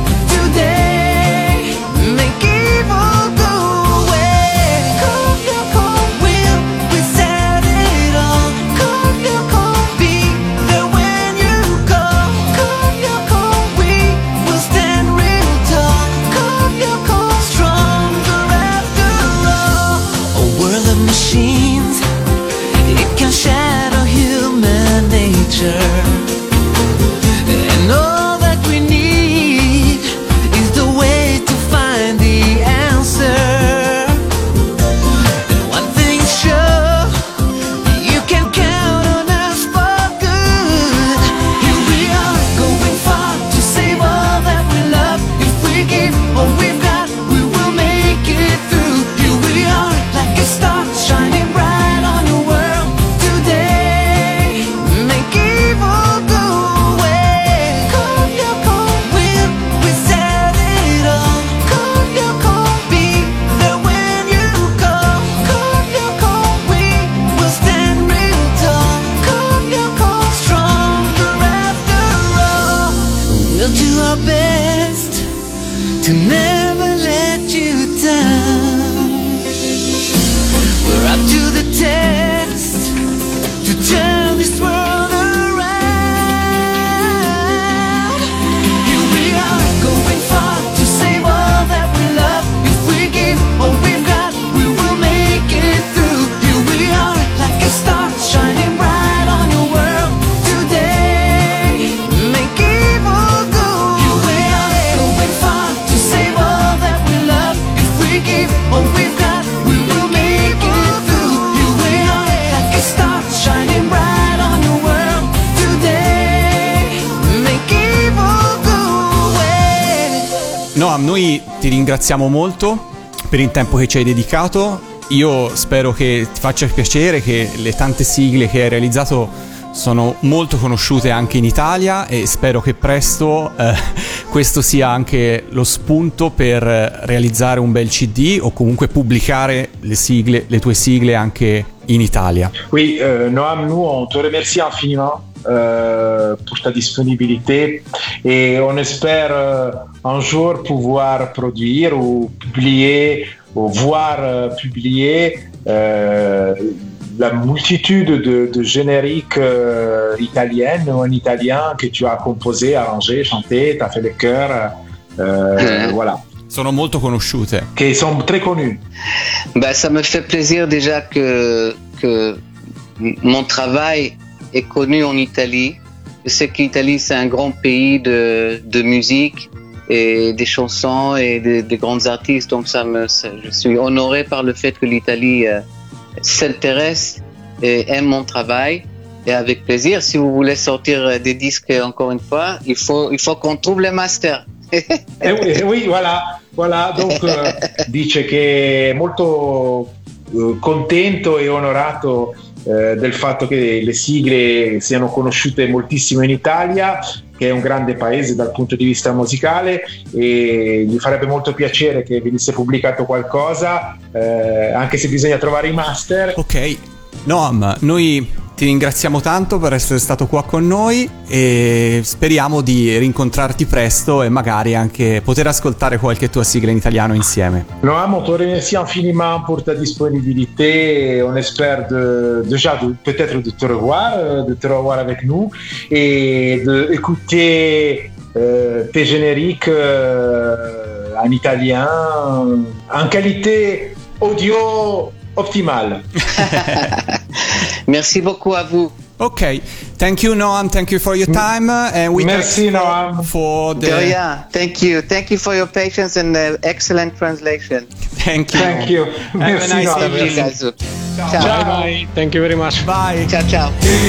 today. Make evil go away. Call your call, will we set it all? Call your call, be there when you call. Call your call, we will stand real tall. Call your call, stronger after all. A world of machines, it can shadow human nature. And all that we need is the way to find the answer. And one thing's sure, you can count on us for good. Here we are going far to save all that we love. If we give all we've got, we will make it through. Here we are like a star shining bright on your world today. Make evil go away. Call your call, will we set it all? Call your call, be there when you call. Call your call, we will stand real tall. Call your call, stronger after all. We'll do our best to never let you down. We're up to the test to turn this world around. Here we are going far to save all that we love. If we give all we've got, we will make it through. Here we are like a star shining bright on your world today. Make evil go away. Here we are going far to save all that we love. If we give all we've got, we will make it through. Here we are like a star shining bright on your world today. Make evil go away. Noam, noi ti ringraziamo molto per il tempo che ci hai dedicato. Io spero che ti faccia piacere che le tante sigle che hai realizzato sono molto conosciute anche in Italia e spero che presto questo sia anche lo spunto per realizzare un bel CD o comunque pubblicare le tue sigle anche in Italia. Oui, Noam, nous on te remercie infiniment pour ta disponibilité et on espère un jour pouvoir produire ou publier ou voir publier la multitude de génériques italiennes ou en italien que tu as composé, arrangé, chanté, tu as fait le chœur, voilà. Sono molto conosciute. Che sono très connus. Ben, ça me fait plaisir déjà que mon travail est connu en Italie. Je sais qu'l'Italie c'est un grand pays de musique et des chansons et des grands artistes. Donc je suis honoré par le fait que l'Italie s'intéresse et aime mon travail. Et avec plaisir, si vous voulez sortir des disques encore une fois, il faut qu'on trouve les masters. Oui, voilà. Donc dice che è molto contento e onorato del fatto che le sigle siano conosciute moltissimo in Italia, che è un grande paese dal punto di vista musicale, e gli farebbe molto piacere che venisse pubblicato qualcosa, anche se bisogna trovare i master. Ok, Noam, noi ti ringraziamo tanto per essere stato qua con noi e speriamo di rincontrarti presto et magari anche poter ascoltare qualche tua sigla in italiano insieme. Noam, on te remercie infiniment pour ta disponibilité. On espère peut-être de te revoir avec nous et d'écouter tes génériques en italien en qualité audio optimale. Merci beaucoup à vous. Okay, thank you Noam, thank you for your time, and we Merci Noam for the... Yeah, thank you for your patience and excellent translation. Thank you. Thank you. Have a nice Thank you evening. guys. Ciao. Bye. Thank you very much. Bye. Ciao.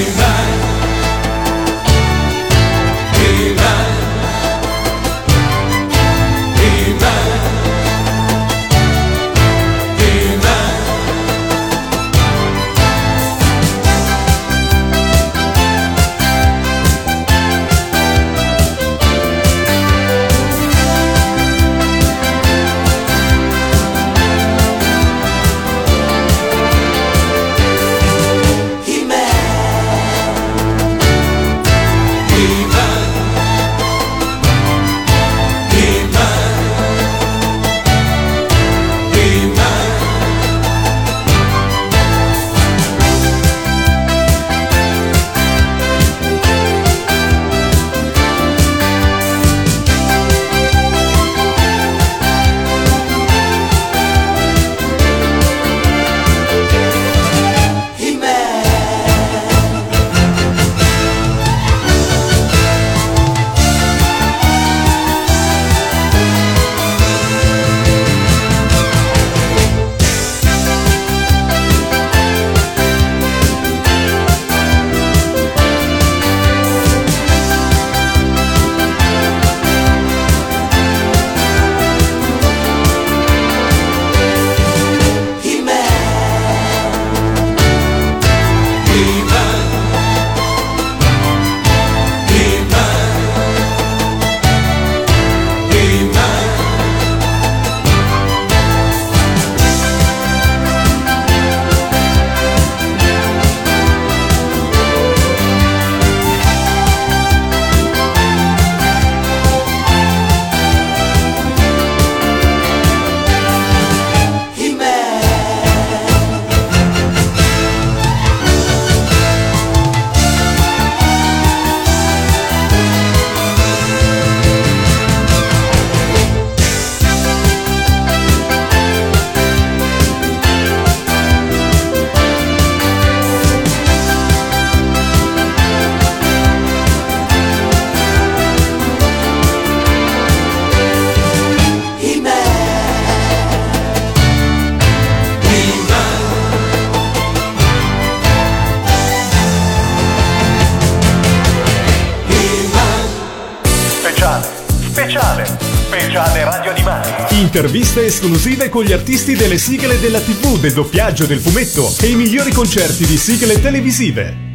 Speciale Radio Animati. Interviste esclusive con gli artisti delle sigle della TV, del doppiaggio, del fumetto e i migliori concerti di sigle televisive.